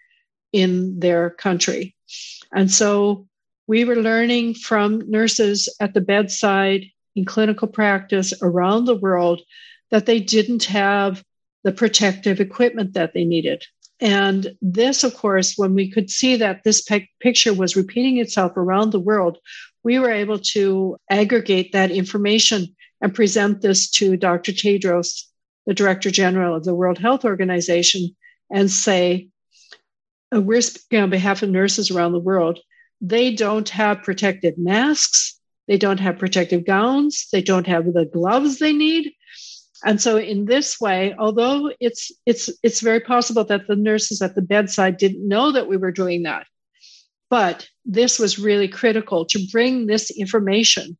in their country. And so we were learning from nurses at the bedside in clinical practice around the world that they didn't have the protective equipment that they needed. And this, of course, when we could see that this pe- picture was repeating itself around the world, we were able to aggregate that information and present this to Doctor Tedros, the Director General of the World Health Organization, and say, we're speaking on behalf of nurses around the world. They don't have protective masks. They don't have protective gowns. They don't have the gloves they need. And so in this way, although it's it's it's very possible that the nurses at the bedside didn't know that we were doing that, but this was really critical to bring this information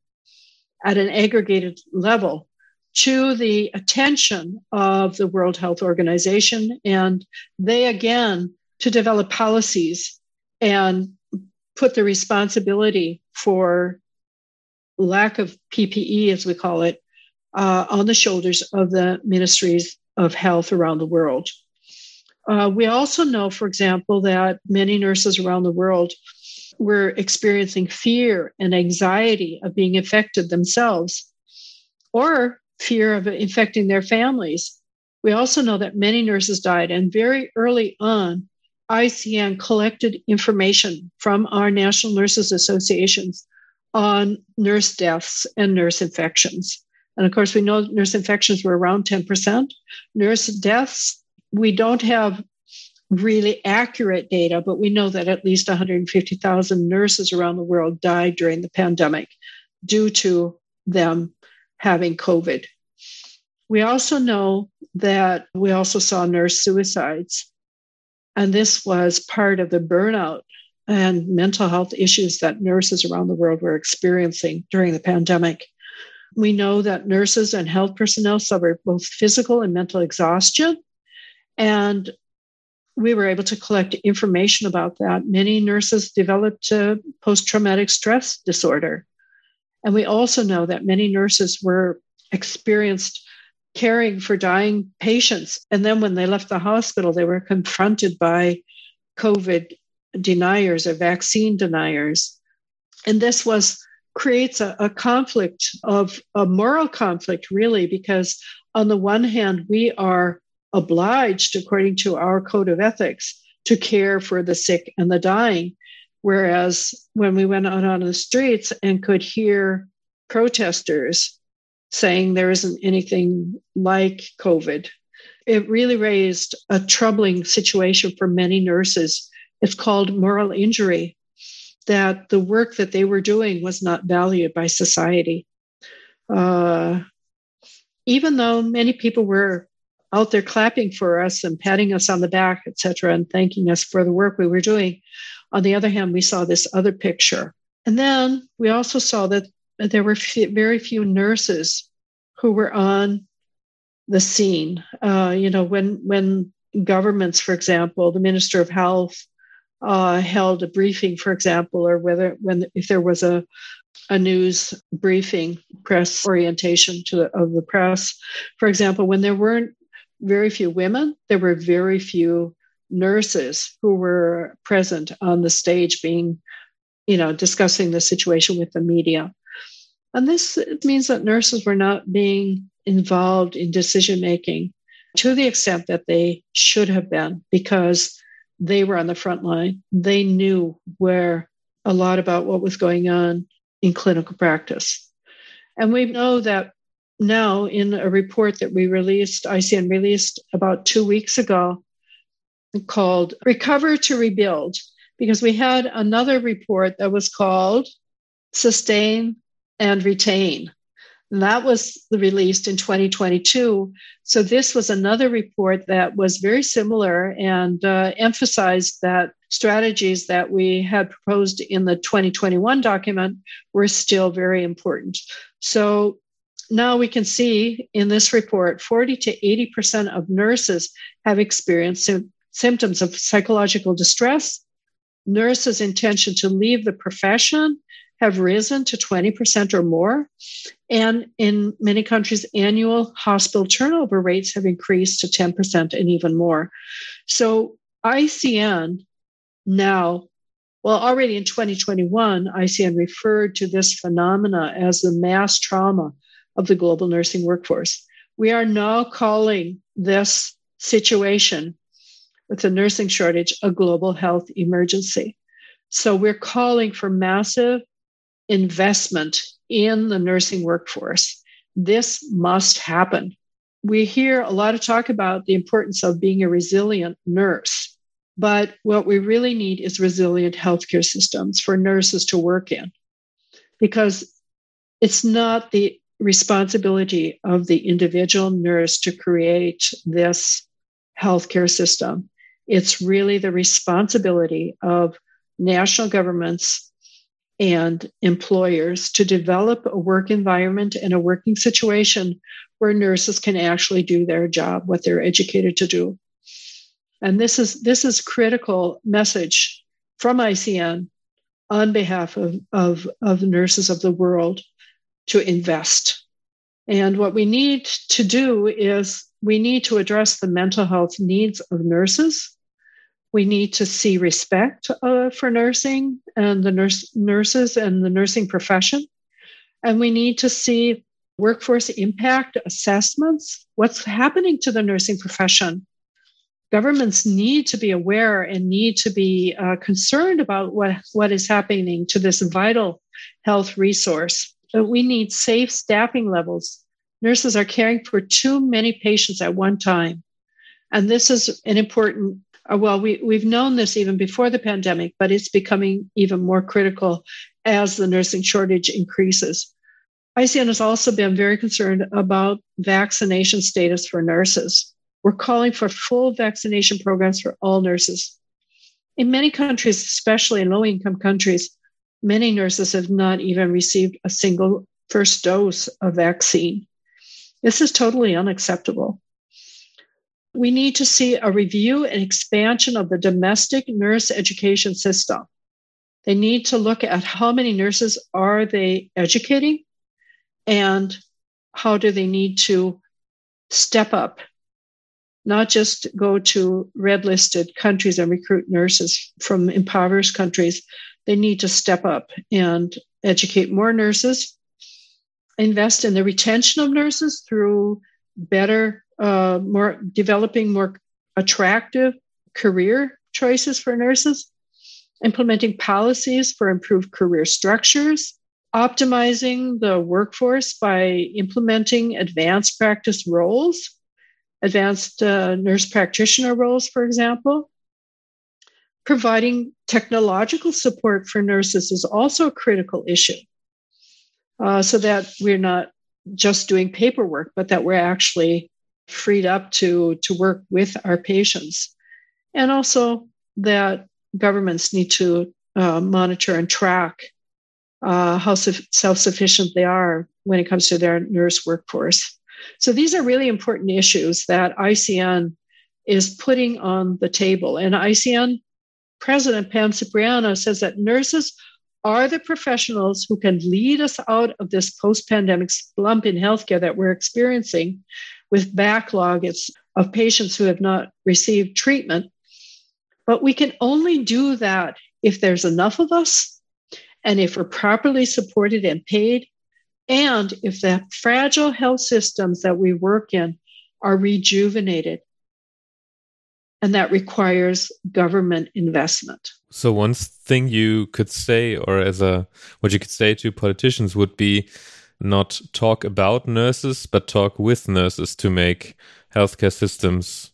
at an aggregated level to the attention of the World Health Organization. And they, again, to develop policies and put the responsibility for lack of P P E, as we call it, uh, on the shoulders of the ministries of health around the world. Uh, we also know, for example, that many nurses around the world were experiencing fear and anxiety of being infected themselves, or fear of infecting their families. We also know that many nurses died, and very early on, I C N collected information from our National Nurses Associations on nurse deaths and nurse infections. And of course, we know nurse infections were around ten percent. Nurse deaths, we don't have really accurate data, but we know that at least one hundred fifty thousand nurses around the world died during the pandemic due to them having COVID. We also know that we also saw nurse suicides. And this was part of the burnout and mental health issues that nurses around the world were experiencing during the pandemic. We know that nurses and health personnel suffered both physical and mental exhaustion. And we were able to collect information about that. Many nurses developed uh, post-traumatic stress disorder. And we also know that many nurses were experienced caring for dying patients. And then when they left the hospital, they were confronted by COVID deniers or vaccine deniers. And this was creates a, a conflict of a moral conflict, really, because on the one hand, we are obliged, according to our code of ethics, to care for the sick and the dying. Whereas when we went out on the streets and could hear protesters saying there isn't anything like COVID, it really raised a troubling situation for many nurses. It's called moral injury, that the work that they were doing was not valued by society. Uh, even though many people were out there clapping for us and patting us on the back, et cetera, and thanking us for the work we were doing, on the other hand, we saw this other picture. And then we also saw that there were f- very few nurses who were on the scene. Uh, you know, when when governments, for example, the Minister of Health uh, held a briefing, for example, or whether when if there was a a news briefing, press orientation to the, of the press, for example, when there weren't very few women, there were very few nurses who were present on the stage being, you know, discussing the situation with the media. And this means that nurses were not being involved in decision-making to the extent that they should have been, because they were on the front line. They knew where a lot about what was going on in clinical practice. And we know that now in a report that we released, I C N released about two weeks ago, called Recover to Rebuild, because we had another report that was called Sustain and Retain. And that was released in twenty twenty-two. So this was another report that was very similar and uh, emphasized that strategies that we had proposed in the twenty twenty-one document were still very important. So now we can see in this report, forty to eighty percent of nurses have experienced sim- symptoms of psychological distress. Nurses' intention to leave the profession have risen to twenty percent or more. And in many countries, annual hospital turnover rates have increased to ten percent and even more. So I C N now, well, already in twenty twenty-one, I C N referred to this phenomena as the mass trauma of the global nursing workforce. We are now calling this situation with the nursing shortage a global health emergency. So we're calling for massive investment in the nursing workforce. This must happen. We hear a lot of talk about the importance of being a resilient nurse, but what we really need is resilient healthcare systems for nurses to work in, because it's not the responsibility of the individual nurse to create this healthcare system. It's really the responsibility of national governments and employers to develop a work environment and a working situation where nurses can actually do their job, what they're educated to do. And this is this is critical message from I C N on behalf of, of, of nurses of the world to invest. And what we need to do is we need to address the mental health needs of nurses. We need to see respect uh, for nursing and the nurse, nurses and the nursing profession. And we need to see workforce impact assessments. What's happening to the nursing profession? Governments need to be aware and need to be uh, concerned about what, what is happening to this vital health resource. But we need safe staffing levels. Nurses are caring for too many patients at one time. And this is an important Well, we, we've known this even before the pandemic, but it's becoming even more critical as the nursing shortage increases. I C N has also been very concerned about vaccination status for nurses. We're calling for full vaccination programs for all nurses. In many countries, especially in low-income countries, many nurses have not even received a single first dose of vaccine. This is totally unacceptable. We need to see a review and expansion of the domestic nurse education system. They need to look at how many nurses are they educating and how do they need to step up, not just go to red-listed countries and recruit nurses from impoverished countries. They need to step up and educate more nurses, invest in the retention of nurses through better, uh, more developing more attractive career choices for nurses, implementing policies for improved career structures, optimizing the workforce by implementing advanced practice roles, advanced uh, nurse practitioner roles, for example. Providing technological support for nurses is also a critical issue, uh, so that we're not just doing paperwork, but that we're actually freed up to, to work with our patients. And also that governments need to uh, monitor and track uh, how su- self-sufficient they are when it comes to their nurse workforce. So these are really important issues that I C N is putting on the table. And I C N President Pam Cipriano says that nurses are the professionals who can lead us out of this post-pandemic slump in healthcare that we're experiencing with backlog of patients who have not received treatment. But we can only do that if there's enough of us and if we're properly supported and paid, and if the fragile health systems that we work in are rejuvenated. And that requires government investment. So one thing you could say, or as a what you could say to politicians, would be not talk about nurses, but talk with nurses to make healthcare systems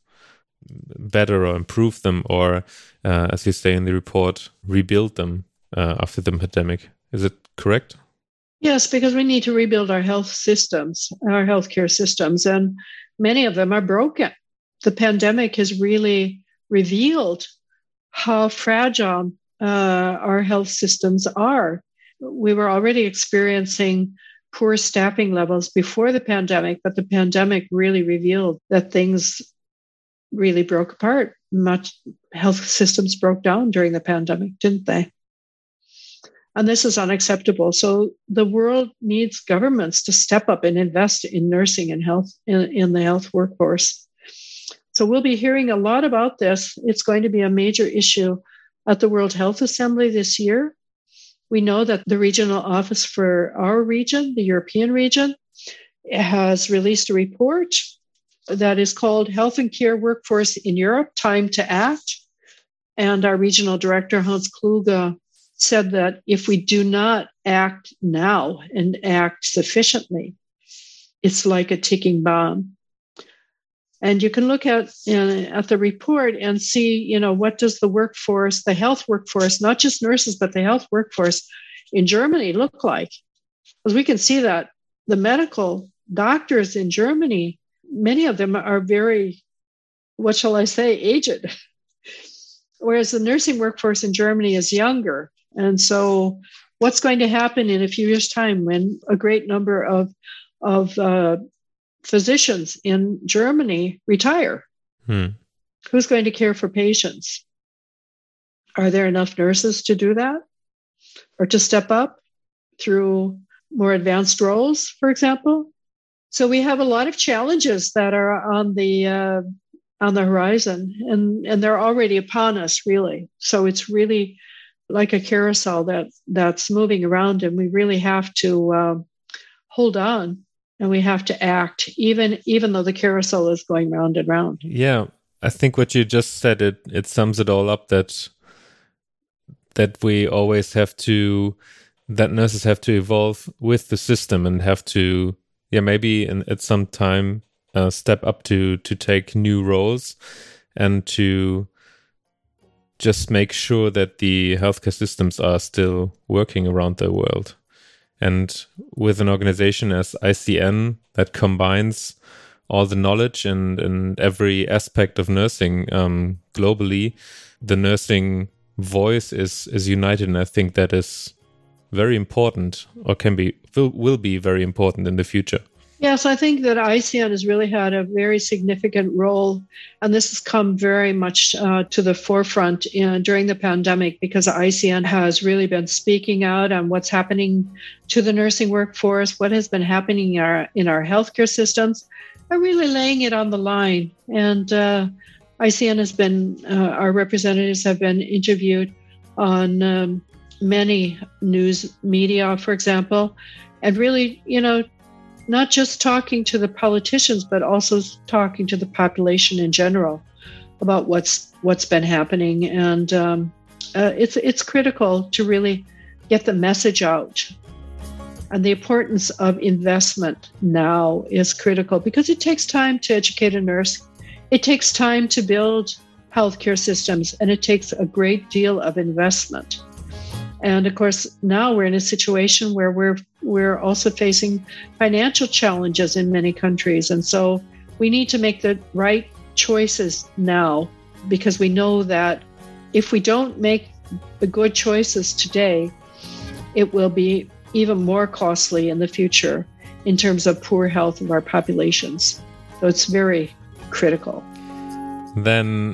better or improve them, or uh, as you say in the report, rebuild them uh, after the pandemic. Is it correct? Yes, because we need to rebuild our health systems, our healthcare systems, and many of them are broken. The pandemic has really revealed how fragile uh, our health systems are. We were already experiencing poor staffing levels before the pandemic, but the pandemic really revealed that things really broke apart. Much health systems broke down during the pandemic, didn't they? And this is unacceptable. So the world needs governments to step up and invest in nursing and health in, in the health workforce. So we'll be hearing a lot about this. It's going to be a major issue at the World Health Assembly this year. We know that the regional office for our region, the European region, has released a report that is called Health and Care Workforce in Europe, Time to Act. And our regional director, Hans Kluge, said that if we do not act now and act sufficiently, it's like a ticking bomb. And you can look at uh, at the report and see, you know, what does the workforce, the health workforce, not just nurses, but the health workforce in Germany look like? Because we can see that the medical doctors in Germany, many of them are very, what shall I say, aged, whereas the nursing workforce in Germany is younger. And so what's going to happen in a few years' time when a great number of, of uh, physicians in Germany retire? Hmm. Who's going to care for patients? Are there enough nurses to do that? Or to step up through more advanced roles, for example? So we have a lot of challenges that are on the uh, on the horizon, and, and they're already upon us, really. So it's really like a carousel that that's moving around, and we really have to uh, hold on. And we have to act, even even though the carousel is going round and round. Yeah, I think what you just said, it it sums it all up, that that we always have to, that nurses have to evolve with the system and have to, yeah, maybe in, at some time uh, step up to to take new roles and to just make sure that the healthcare systems are still working around the world. And with an organization as I C N that combines all the knowledge and, and every aspect of nursing um, globally, the nursing voice is is united. And I think that is very important, or can be, will, will be very important in the future. Yes, I think that I C N has really had a very significant role, and this has come very much uh, to the forefront in, during the pandemic, because I C N has really been speaking out on what's happening to the nursing workforce, what has been happening in our, in our healthcare systems, are really laying it on the line. And uh, I C N has been, uh, our representatives have been interviewed on um, many news media, for example, and really, you know, not just talking to the politicians, but also talking to the population in general about what's what's been happening. And um, uh, it's it's critical to really get the message out. And the importance of investment now is critical because it takes time to educate a nurse. It takes time to build healthcare systems, and it takes a great deal of investment. And of course, now we're in a situation where we're we're also facing financial challenges in many countries. And so we need to make the right choices now, because we know that if we don't make the good choices today, it will be even more costly in the future in terms of poor health of our populations. So it's very critical. Then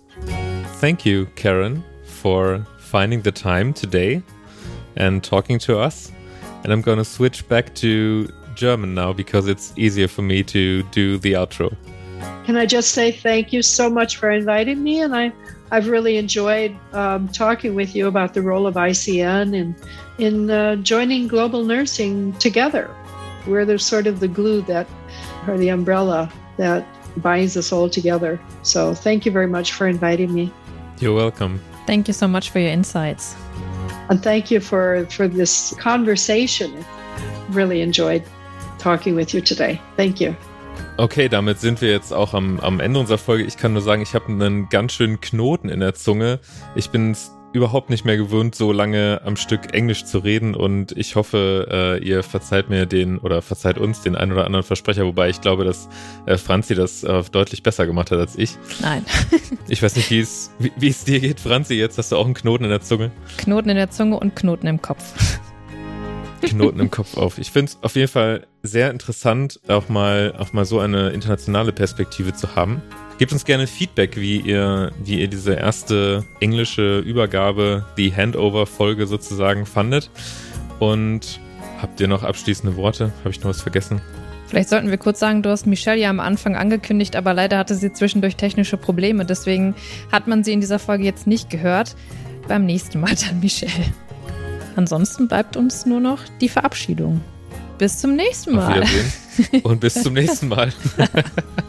thank you, Karen, for finding the time today and talking to us. And I'm going to switch back to German now because it's easier for me to do the outro. Can I just say thank you so much for inviting me? And I, I've really enjoyed um, talking with you about the role of I C N and in uh, joining global nursing together. We're the sort of the glue that, or the umbrella that binds us all together. So thank you very much for inviting me. You're welcome. Thank you so much for your insights. And thank you for, for this conversation. Really enjoyed talking with you today. Thank you. Okay, damit sind wir jetzt auch am, am Ende unserer Folge. Ich kann nur sagen, ich habe einen ganz schönen Knoten in der Zunge. Ich bin es überhaupt nicht mehr gewöhnt, so lange am Stück Englisch zu reden, und ich hoffe, äh, ihr verzeiht mir den oder verzeiht uns den ein oder anderen Versprecher, wobei ich glaube, dass äh, Franzi das äh, deutlich besser gemacht hat als ich. Nein. Ich weiß nicht, wie es wie, wie es dir geht, Franzi. Jetzt hast du auch einen Knoten in der Zunge. Knoten in der Zunge und Knoten im Kopf. Knoten im Kopf auf. Ich finde es auf jeden Fall sehr interessant, auch mal, auch mal so eine internationale Perspektive zu haben. Gebt uns gerne Feedback, wie ihr, wie ihr diese erste englische Übergabe, die Handover-Folge sozusagen fandet. Und habt ihr noch abschließende Worte? Habe ich noch was vergessen? Vielleicht sollten wir kurz sagen, du hast Michelle ja am Anfang angekündigt, aber leider hatte sie zwischendurch technische Probleme. Deswegen hat man sie in dieser Folge jetzt nicht gehört. Beim nächsten Mal dann Michelle. Ansonsten bleibt uns nur noch die Verabschiedung. Bis zum nächsten Mal. Auf Wiedersehen und bis zum nächsten Mal.